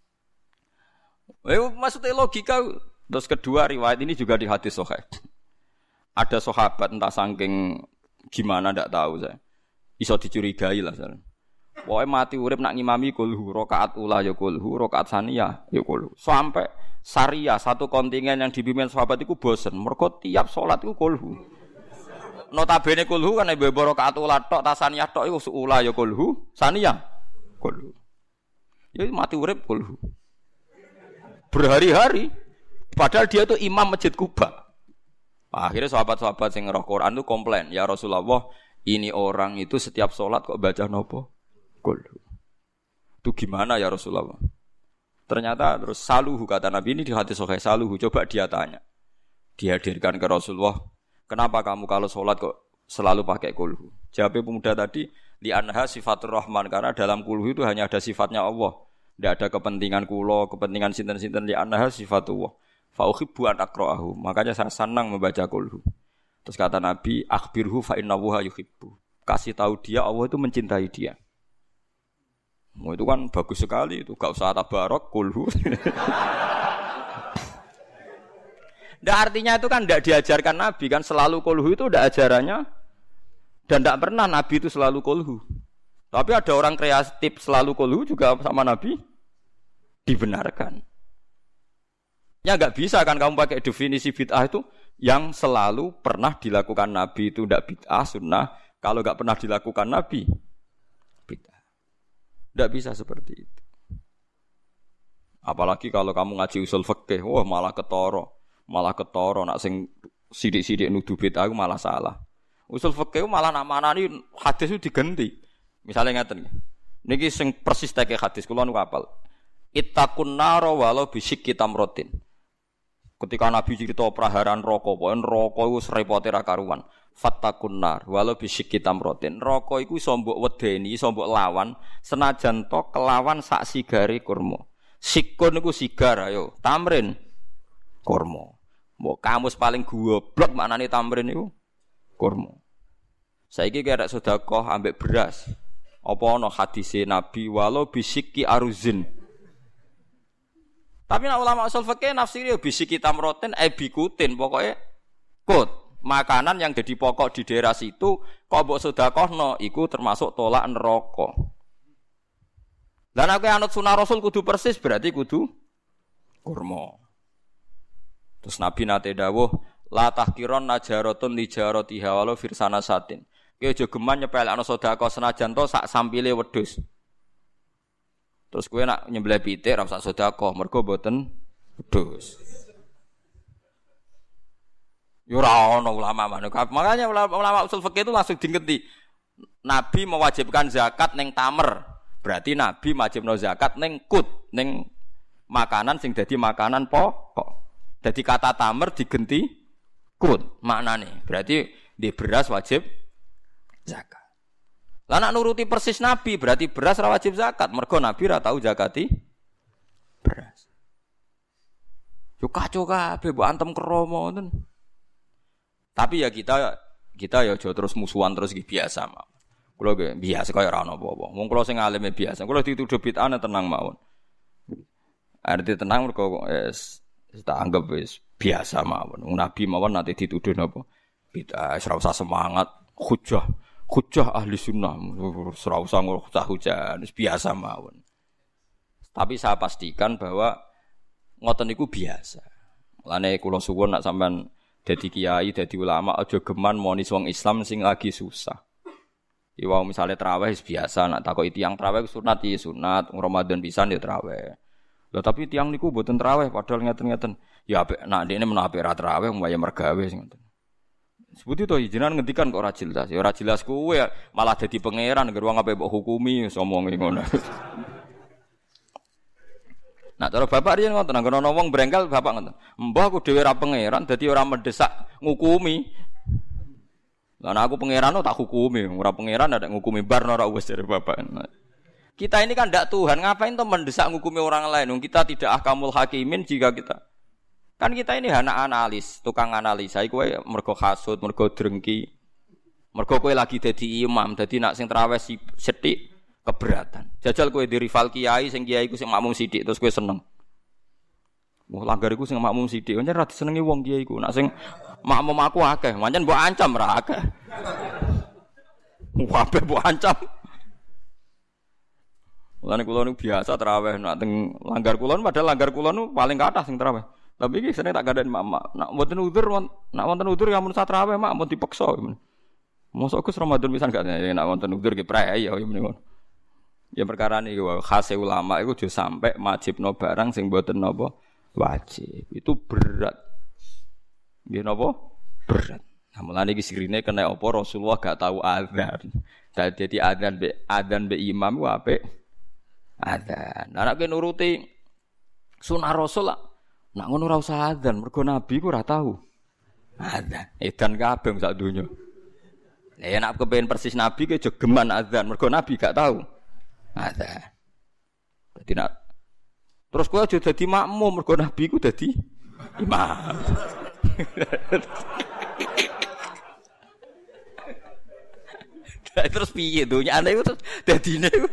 Maksudnya logika. Terus kedua riwayat ini juga di hadis sahih. Ada sahabat entah saking gimana ndak tahu saya. Iso dicurigai lah saya. Pokoke mati urip nak ngimami kulhu, rakaat ula ya kulhu, rakaat saniyah ya kulhu. Sampai Syariah satu kontingen yang dipimpin sahabat itu bosen. Mergo tiap salat iku kulhu. Notabene kulhu kan ibu rakaat ula tok, tasaniyah tok iku ula ya kulhu, saniyah kulhu. Ya mati urip kulhu. Berhari-hari padahal dia itu imam Masjid Kuba. Akhirnya sahabat-sahabat yang ngerah Quran itu komplain, ya Rasulullah, ini orang itu setiap sholat kok baca nopo? Kulhu. Itu gimana ya Rasulullah? Ternyata terus saluhu, kata Nabi ini di hadis sahih, saluhu, coba dia tanya. Dihadirkan ke Rasulullah, kenapa kamu kalau sholat kok selalu pakai kulhu? Jawabnya pemuda tadi, li anha sifatur rahman, karena dalam kulhu itu hanya ada sifatnya Allah. Tidak ada kepentingan kulo, kepentingan sinten-sinten, li anha sifatullah. Fa uhibbu an aqra'ahu, makanya saya senang membaca kulhu. Terus kata Nabi, akhbirhu fa innahu yuhibbu. Kasih tahu dia Allah itu mencintai dia. Itu kan bagus sekali itu, gak usah tabarok kulhu. Ndak artinya itu kan ndak diajarkan Nabi kan, selalu kulhu itu ndak ajarannya dan ndak pernah Nabi itu selalu kulhu. Tapi ada orang kreatif selalu kulhu juga sama Nabi dibenarkan. Ya enggak bisa kan kamu pakai definisi bid'ah itu yang selalu pernah dilakukan Nabi itu ndak bid'ah sunnah, kalau enggak pernah dilakukan Nabi bid'ah. Ndak bisa seperti itu. Apalagi kalau kamu ngaji usul fikih, wah malah ketoro nak sing sidik-sidik nuduh bid'ah malah salah. Usul fikih malah nak manani hadis itu diganti. Misalnya ngaten niki sing persis teke hadis kula nu hafal. Ittaqun nar walau bisyikki tamratin. Ketika Nabi cerita praharan rokok, pokoke rokok iku repote ra karuan. Fattaqun nar walau bisyikki tamratin. Rokok iku iso mbok wedeni, iso mbok lawan senajan to kelawan sak sigare kurma. Sikun niku sigar ayo, tamrin kurma. Mbok kamus paling goblok maknane tamrin niku kurma. Saiki kira sedekah ambek beras. Apa ana hadise Nabi walau bisyikki aruzin. Tapi nak ulama usul fikih nafsiri bisyikki tamrotin bikutin pokoknya kut makanan yang jadi pokok di daerah situ kok mbok sedekahno iku termasuk tolak neraka. Lan aku anut sunah Rasul kudu persis berarti kudu kurma. Terus Nabi nate dawuh la tahkiron najaratun li jaratiha walau firsana satin. Ki aja geman nyepelekno sedekah senajan to sak sampile wedhus. Terus kowe nak nyembelih pitik ra usah sedekah mergo mboten wedhus. Yo ora ana ulama manuk. Makanya ulama usul fikih itu langsung diingeti. Nabi mewajibkan zakat ning tamer. Berarti Nabi wajibno zakat ning kut, ning makanan sing dadi makanan pokok. Dadi kata tamer digenti kut maknane. Berarti di beras wajib zakat. Lah nak nuruti persis Nabi berarti beras ra wajib zakat. Mergo Nabi ra tau zakati beras. Yo kacau kabeh mbok antem kromo ngoten. Tapi ya kita ya aja terus musuhan terus biasa mawon. Kula nggih biasa kaya ora ana apa-apa. Wong kula sing alime biasa. Kula dituduh bid'ah tenang mawon. Arti tenang mergo tak anggap wis biasa mawon. Nabi mawon nanti dituduh napa? Bid'ah, ora usah semangat, hujah ahli sunnah. Ora usah hujah, wis biasa mawon. Tapi saya pastikan bahwa ngoten niku biasa. Mulane kula suwun nek sampean dadi kiai, dadi ulama aja geman monis wong Islam sing lagi susah. Iwau misale traweh wis biasa, nek takoki tiyang traweh sunat ya sunat, Ramadan pisan ya traweh. Lha tapi tiyang niku mboten traweh padahal ngeten-ngeten. Ya apik nek ndekne menawa ra traweh mbaya mergawe sing ngoten. Sebuti to jenengan ngendikan kok ora jelas. Ya ora jelas kowe malah dadi pangeran ngger wong ape mbok hukumi wis omongi ngono. Nah, cara bapak riyen ngoten, nang ana wong brengkel bapak ngoten. Mbah aku dhewe ora pangeran, dadi ora mendesak ngukumi. Lah nek aku pangeran tak hukumi, ora pangeran ada ngukumi bar ora wis dari bapak. Nah, kita ini kan ndak Tuhan, ngapain tuh mendesak ngukumi orang lain? Kita tidak ahkamul hakimin jika kita. Kan kita ini anak analis, tukang analisa. Iku kowe mergo hasud, mergo drengki. Mergo kowe lagi dadi imam, dadi nak sing traweh sithik keberatan. Jajal kowe di rival kiai sing kiai ku sing makmum sithik terus kowe seneng. Wah langgar iku sing makmum sithik, pancen ra disenengi wong kiai ku. Nak sing makmum aku akeh, pancen mbok ancam ra akeh. Wae mbok ancam. Mulane kula niku biasa traweh nak teng langgar kula padahal langgar kula niku paling kathah sing traweh. Tapi iki sering tak gandhen mak. Nak mboten udzur, nak wonten udzur ya mun sak traweh mak mun dipeksa. Mosok Gus Ramadan pisan gak nak wonten udzur ki prei ya ngono. Ya perkara ini khas ulama itu juga sampai wajibno barang sing mboten napa wajib. Itu berat. Nggih napa? Berat. Nah, mulane iki sirine kena apa Rasulullah gak tahu azan. Dadi adzan be imam ku apik. Adzan. Nah nek nuruti sunah Rasul nak ngono ora usah adzan, mergo Nabi ku ora tahu. Adzan. Edan kabeh sak donya. Ya nek kepengin persis Nabi ke jogeman adzan, mergo Nabi gak tahu. Ada. Dadi nak terus kowe aja dadi makmum mergo Nabi ku dadi imam. Terus piye donyane iku terus dadine iku.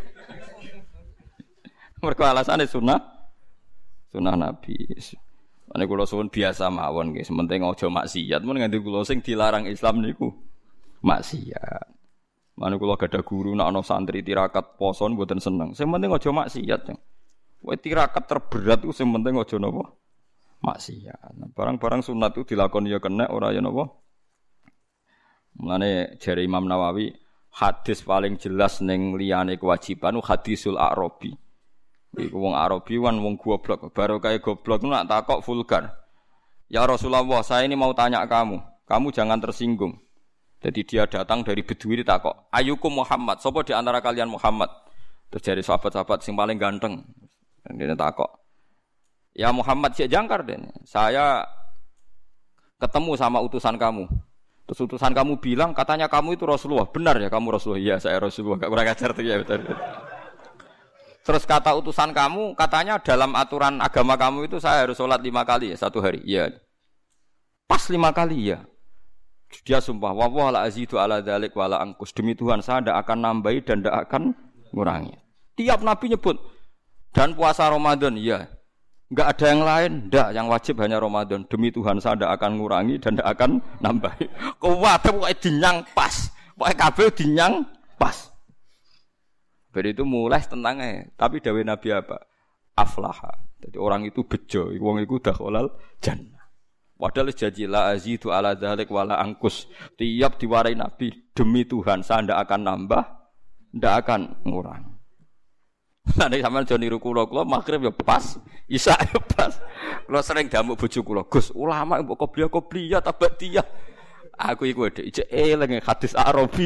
Mergo alasane sunah Nabi. Ane kula suwun biasa mawon nggih, sementing aja maksiat, mun nganti kula sing dilarang Islam niku maksiat. Mane kula gadah guru nek ana santri tirakat poso mboten seneng. Sing penting aja maksiat. Kowe tirakat terberat ku sing penting aja napa? Maksiat. Nah, barang-barang sunat itu dilakoni ya kena ora ya napa? Mulane jare Imam Nawawi, hadis paling jelas ning liyane kewajiban hadisul Arabi. Iku wong Arabi kan wong goblok, baru kaya goblok nak takok vulgar. Ya Rasulullah, saya ini mau tanya kamu jangan tersinggung. Jadi dia datang dari Bedui ditakok, "Ayyukum Muhammad?" Sapa di antara kalian Muhammad? Terus dari sahabat-sahabat sing paling ganteng. Dia takok, "Ya Muhammad sik jangkar den. Saya ketemu sama utusan kamu." Terus utusan kamu bilang, "Katanya kamu itu Rasulullah." "Benar ya kamu Rasulullah?" "Iya, saya Rasulullah." Enggak kurang ajar tuh ya betul. Terus kata utusan kamu, katanya dalam aturan agama kamu itu saya harus sholat 5 kali ya satu hari. Iya. Pas 5 kali ya. Dia sumpah, "Wallah la azidu ala dzalik wala angkus." Demi Tuhan saya tidak akan nambahi dan tidak akan ngurangi. Tiap Nabi nyebut dan puasa Ramadan, iya. Enggak ada yang lain, ndak, yang wajib hanya Ramadan. Demi Tuhan saya tidak akan ngurangi dan tidak akan nambahi. Kuwate pokoke dinyang pas. Pokoke kabeh dinyang pas. Berarti itu mulai tentangnya. Tapi dawuh Nabi apa? Aflaha. Jadi orang itu bejo, wong iku dakhalal jannah. Padahal janji la azidu ala dzalik wala angkus. Tiap diwarai Nabi, demi Tuhan saya ndak akan nambah, ndak akan ngurang. Nah nek sampean aja niru kula magrib ya pas, isya ya pas. Kula sering damuk bojo kula, "Gus, ulama mbok qobliyah tabadiyah." Aku iku dhek ijek eling hadis Arabi.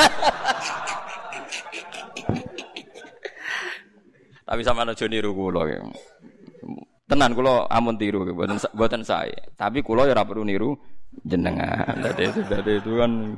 Tapi sampean aja niru kula. Tenan kula amun tiru mboten sae. Tapi kula ya ora perlu niru jenengan. Dadi itu kan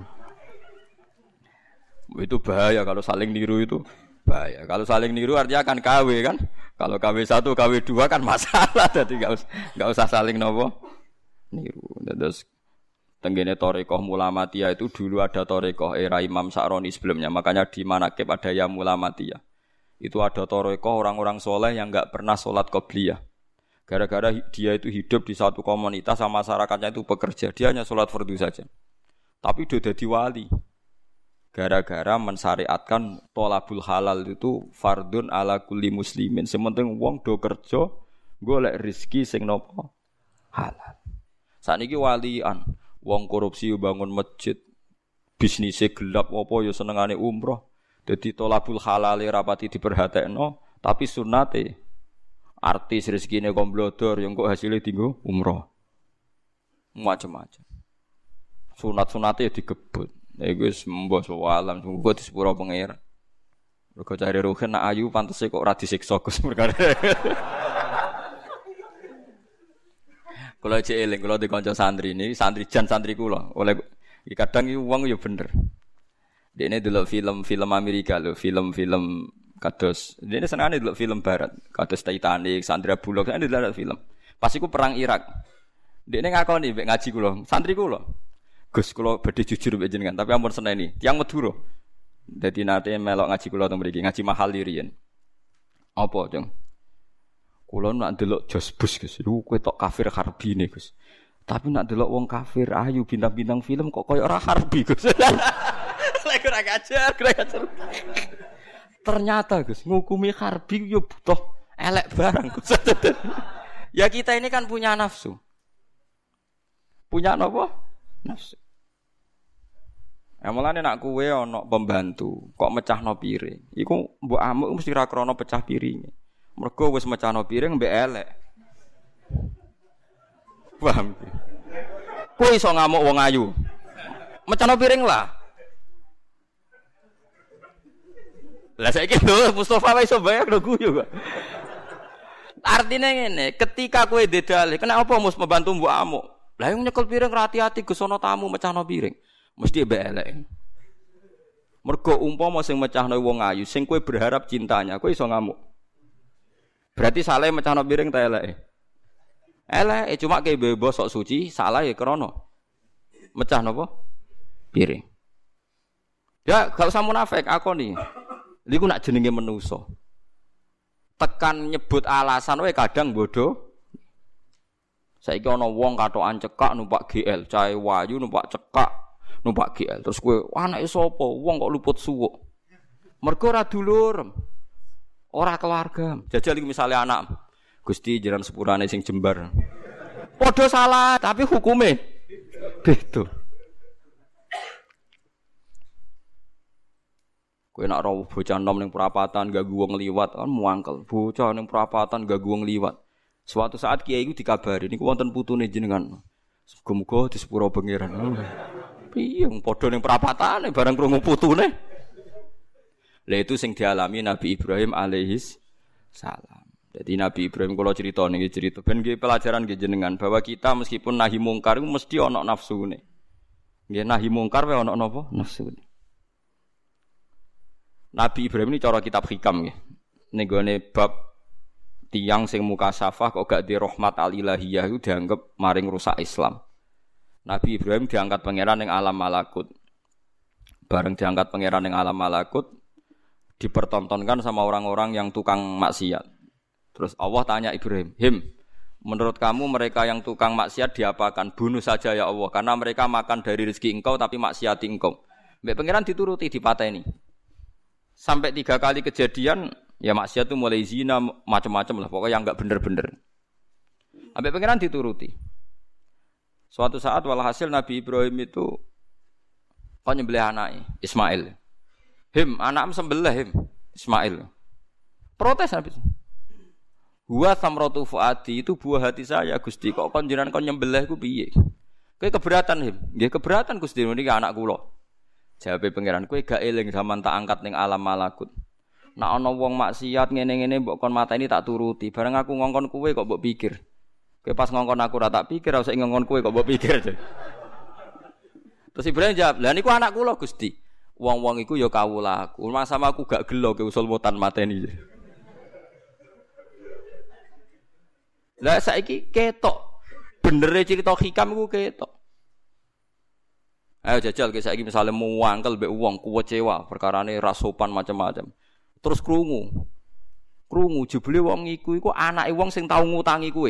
itu bahaya kalau saling niru itu bahaya. Kalau saling niru artinya akan KW kan. Kalau KW1, KW2 kan masalah, jadi enggak usah saling nopo niru. Terus tenggene Thariqah Mulamatiyah itu dulu ada Thariqah era Imam Sa'roni sebelumnya, makanya di Manaqib ada ya Mulamatiyah. Itu ada Thariqah orang-orang soleh yang enggak pernah sholat qobliyah. Gara-gara dia itu hidup di satu komunitas sama masyarakatnya itu bekerja, dia hanya sholat fardu saja. Tapi dia jadi wali. Gara-gara mensyariatkan tolabul halal itu fardun ala kulli muslimin. Sementing wong do kerja golek rezeki sing napa halal. Saniki walian, wong korupsi bangun masjid, bisnise gelap apa ya senengane umroh. Dadi tolabul halal rapati diperhatekno, tapi sunnate artis rezekine komblodor yang kok hasilnya tinggo umroh. Macam-macam. Sunat-sunate digebut. Iku wis mbah sawalam, muga di sepuro pengira. Mergo cari ruhen nak ayu pantese kok ora disiksa Gus perkara. Kula cek eling, kula di kanca santri ini, santri jan santri kula. Oleh kadang iki wong ya bener. Dene delok film-film Amerika lho, film-film kados. Dene senengane delok film barat, kados Titanic, Sandra Bullock, senengane delok film. Pas iku perang Irak. Dene ngakoni mek ngaji kula, santri kula. Gus kula badhe jujur mbek jenengan, tapi ampun seneni. Tiyang Madura. Dadi nate melok ngaji kula teng mriki, ngaji mahal riyen. Apa, Jeng? Kula nak ndelok Jos Bus, Gus. Lu kowe tok kafir harbine, Gus. Tapi nak ndelok wong kafir ayu bintang-bintang film kok koyo ora harbi, Gus. Lek ora ngajar. Ternyata, Gus, ngukumi harbi yo butuh elek barang, Gus. Ya kita ini kan punya nafsu. Punya apa? Nafsu. Mulane nak kowe ana pembantu, kok mecahno piring. Iku mbok amuk mesti ra krana pecah piringe. Mergo wis mecahno piring mbek elek. Paham? Kowe iso ngamuk wong ayu. Mecahno piring lah. Lah saiki lho Mustofa wis iso bayar lho guyu kok. Artine ngene, ketika kowe dedale, kenapa mus pembantu mbok amuk? Lah yang nyekel piring hati-hati Gus ana tamu mecahno piring. Mesti mbek elek. Mergo umpama sing mecahno wong ayu, sing kowe berharap cintanya, kowe iso ngamuk. Berarti salah mecahno piring ta eleke? Eleke cuma kowe bebas sok suci, salah ya krana mecah napa? Piring. Ya gak usah munafik akoni. Niku nak jenenge manusa. Tekan nyebut alasan wae kadang bodoh. Saiki ana wong katokan cekak numpak GL, cahe wayu numpak cekak numpak GL. Terus kowe anake sapa? Wong kok luput suwuk. Mergo ora dulur. Ora keluarga. Jajal iki misale anak Gusti jiran sepurane sing jembar. Padha salah, tapi hukume beda. Kowe nek ora bocah nom ning perapatan ganggu wong liwat kan muangkel. Bocah ning perapatan ganggu wong liwat. Suatu saat kiai iku dikabari niku wonten putune jenengan. Muga-muga di sepuro pangeran. Piye padha ning perapatane bareng krungu putune. Lah itu sing dialami Nabi Ibrahim alaihis salam. Jadi Nabi Ibrahim kula crita niki cerita ben nggih pelajaran nggih jenengan bahwa kita meskipun nahi mungkar iku mesti ana nafsune. Nggih nahi mungkar wae ana napa? Nafsune. Nabi Ibrahim ini cara kitab hikam nggih. Ning gone bab tiyang sing mukasafah kok gak di rahmat al-ilahiyah itu dianggap maring rusak Islam. Nabi Ibrahim diangkat pangeran ning alam malakut. Bareng diangkat pangeran ning alam malakut dipertontonkan sama orang-orang yang tukang maksiat. Terus Allah tanya Ibrahim, menurut kamu mereka yang tukang maksiat diapakan? Bunuh saja ya Allah, karena mereka makan dari rezeki engkau tapi maksiati engkau. Mbak pangeran dituruti dipateni. Sampai 3 kali kejadian, ya maksiat itu mulai zina macam-macam lah, pokoknya yang enggak bener-bener. Mbak pangeran dituruti. Suatu saat walhasil Nabi Ibrahim itu kok nyembelih anaknya Ismail. Anakmu sembelih Ismail. Protes Nabi. Huwa samratu fuadi, itu buah hati saya Gusti. Kok kon jenengan kon nyembelih iku piye? Kowe keberatan Nggih keberatan Gusti, niki anak kula. Jawabe pangeran, kowe gak eling zaman tak angkat ning alam malakut. Nek ana wong maksiat ngene-ngene mbok kon mateni tak turuti. Bareng aku ngongkon kowe kok mbok pikir. Kowe pas ngongkon aku ora tak pikir, ora usah ngongkon kowe kok mbok pikir. Terus Ibrahim jawab, "Lah niku anak kula Gusti." Wong-wong iku ya kawulaku. Mas sama aku gak gelo ke usul mutan mateni. Lah saiki ketok. Benere cerita hikam iku ketok. Ayo jajal ke saiki misale muangkel mbek wong kecewa perkarane ra sopan macam-macam. Terus krungu jebule wong iku anake wong sing tau ngutangi kowe.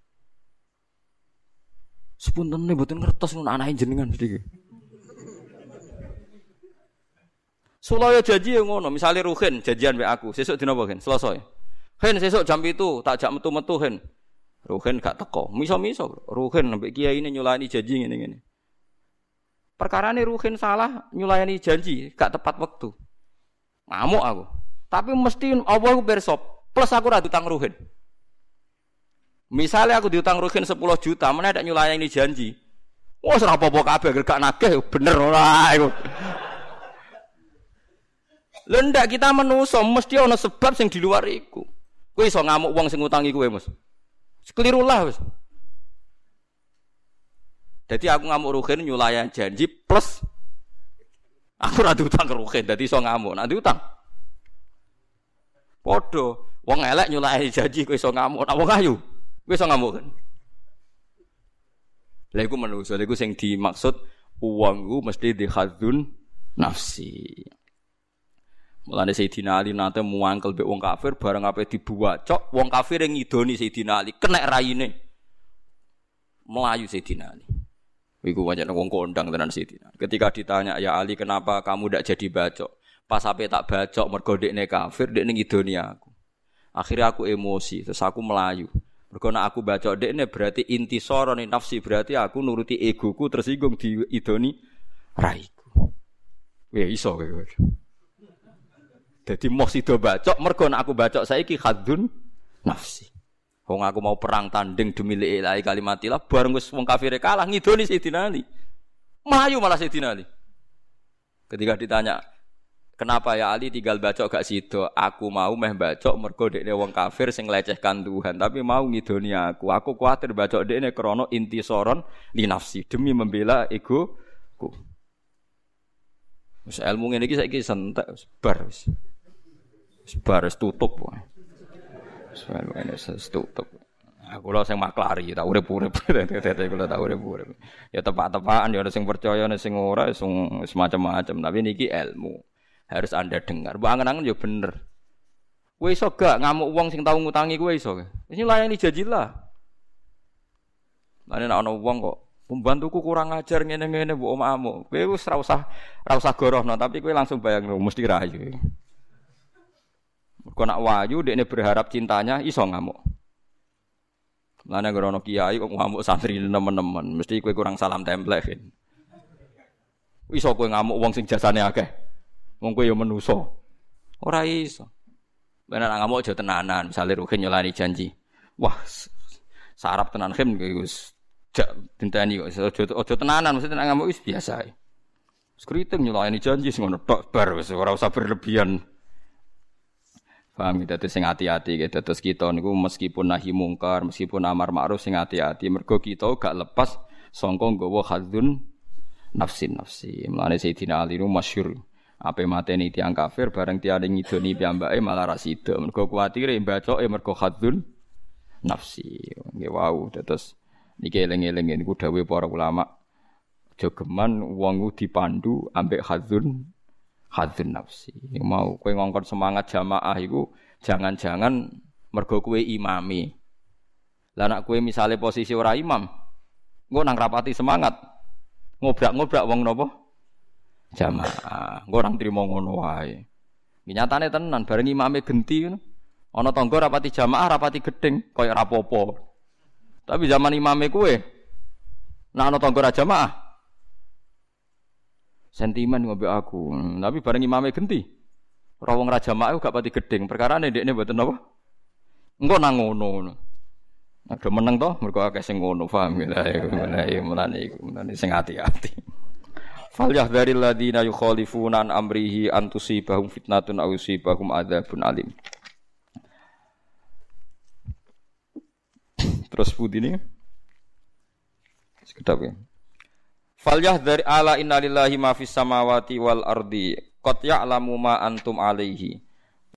Sepuntene mboten ngertos ngono anake jenengan mesti. Sulaya janji ngono, misale Ruhin janjian mbek aku, sesuk dina apa, Hen? Selasa. Hen sesuk jam 7 tak jak metu-metu, Hen. Ruhin gak teko. Miso-miso Ruhin mbek kiyaine nyulani janji ngene-ngene. Perkarane Ruhin salah nyulayani janji, gak tepat waktu. Ngamuk aku. Tapi mesti Allah ku pirsa, plus aku ra diutang Ruhin. Misalnya aku diutang Ruhin 10 juta, meneh ndak nyulayani janji. Wes ora apa-apa kabeh gak nagih, bener ora iku. Lha ndak kita manusa mesti ana sebab sing di luar iku. Kowe iso ngamuk wong sing ngutangi kowe, Mas. Kelirulah wis. Jadi aku ngamuk Ruhin nyulayan janji plus aku ora diutang ke Ruhin, dadi iso ngamuk. Nek diutang padha wong elek nyulayani janji kowe iso ngamuk, nek wong ayu kowe iso ngamuk kan. Lha iku manusa, lha iku sing dimaksud uang iku mesti dihadzun nafsi. Mulane Sayyidina Ali nate muangkel mbek wong kafir bareng ape dibuwacok, wong kafir yang ngidoni Sayyidina Ali, kenek raine. Melayu Sayyidina Ali. Iku wajan wong kondang tenan Sayyidina. Ketika ditanya, "Ya Ali, kenapa kamu ndak jadi bacok?" Pas ape tak bacok mergo dekne kafir, dekne ngidoni aku. Akhirnya aku emosi, terus aku melayu. Mergo nek aku bacok dekne berarti intisara ni nafsi, berarti aku nuruti egoku tersinggung diidoni raiku. Ya iso kowe. Dadi moh sida bacok mergo nek aku bacok saiki khadzun nafsi. Wong aku mau perang tanding demi la kalimatillah bareng wis wong kafire kalah ngidoni Sayyidina Ali. Melayu malah Sayyidina Ali. Ketika ditanya, "Kenapa ya Ali tinggal bacok gak sida?" Aku mau meh bacok mergo dekne wong kafir sing lecehkan Tuhan, tapi mau ngidoni aku. Aku kuwatir bacok dekne krana intisoron li nafsi, demi membela egoku. Wis ilmu ngene iki saiki sentek bar wis. Bar tutup wae. Soalnya ini tutup. Aku lho sing maklari, tak urip-urip. Kula tak urip-urip. Ya tepak-tepakan ya ana sing percaya ana sing ora, sing semacam-macam, tapi niki ilmu. Harus Anda dengar. Mbok angen-angen ya bener. Kowe iso gak ngamuk wong sing tau ngutangi kowe iso. Wis layani janji lah. Lah nek ana wong kok pembantuku kurang ajar ngene-ngene mbok omahmu. Kowe wis ra usah gorohno, tapi kowe langsung bayangno mesti rayu. Kok nak wayu dekne berharap cintanya iso ngamuk. Lane grono kiai kok ngamuk santri nemen-nemen, mesti kowe kurang salam templek. Iso kowe ngamuk wong sing jasane akeh. Wong kowe ya manusa. Ora iso. Bener ngamuk aja tenanan, misale Ruhin nyolani janji. Wah, sarap tenan khim kowe wis jak dinteni kok aja tenanan, mesti tenan ngamuk wis biasa ae. Skriting nyolani janji sing ngono tok bar wis ora usah berlebihan. Paham gitu, sing hati-hati gitu. Terus kita niku meskipun nahi mungkar, meskipun amar ma'ruf sing hati-hati. Mergo kita gak lepas sangka nggawa khadzun nafsi. Mulane Sayyidina Ali niku masyhur. Ape mateni tiyang kafir bareng tiyane ngidoni piyambake malah ra sida. Mergo kuwatire bacoke mergo khadzun nafsi. Nggih wau. Terus niki eling-eling niku dawuh para ulama. Aja geman wong dipandu ambek khadzun nafsi. Mau kowe ngongkon semangat jamaah iku jangan-jangan mergo kowe imami. Lah nek kowe misale posisi ora imam, engko nang rapati semangat. Ngobrak-ngobrak wong napa? Jamaah. Engko ora trimo ngono wae. Iki nyatane tenan bareng imame genti ngono. Ana tangga rapati jamaah, rapati gedeng, kaya ora apa-apa. Tapi zaman imame kowe nek ana tangga ra jamaah sentimen ngombe aku. Tapi bareng imame genti. Ora wong ra jamaah gak pati gedeng. Perkarane ndekne mboten apa? Engko nang ngono. Ada meneng to mergo akeh sing ngono, paham ya. Mulane sing hati-hati. Fal yahdharil ladina yukhalifuna an amrihi an tusibahum fitnatun aw yusibahum adzabun alim. Terus putine. Sekedap ya. Fal yahdhar ala innalillahi ma fis samawati wal ardi qad ya'lamu ma antum alaihi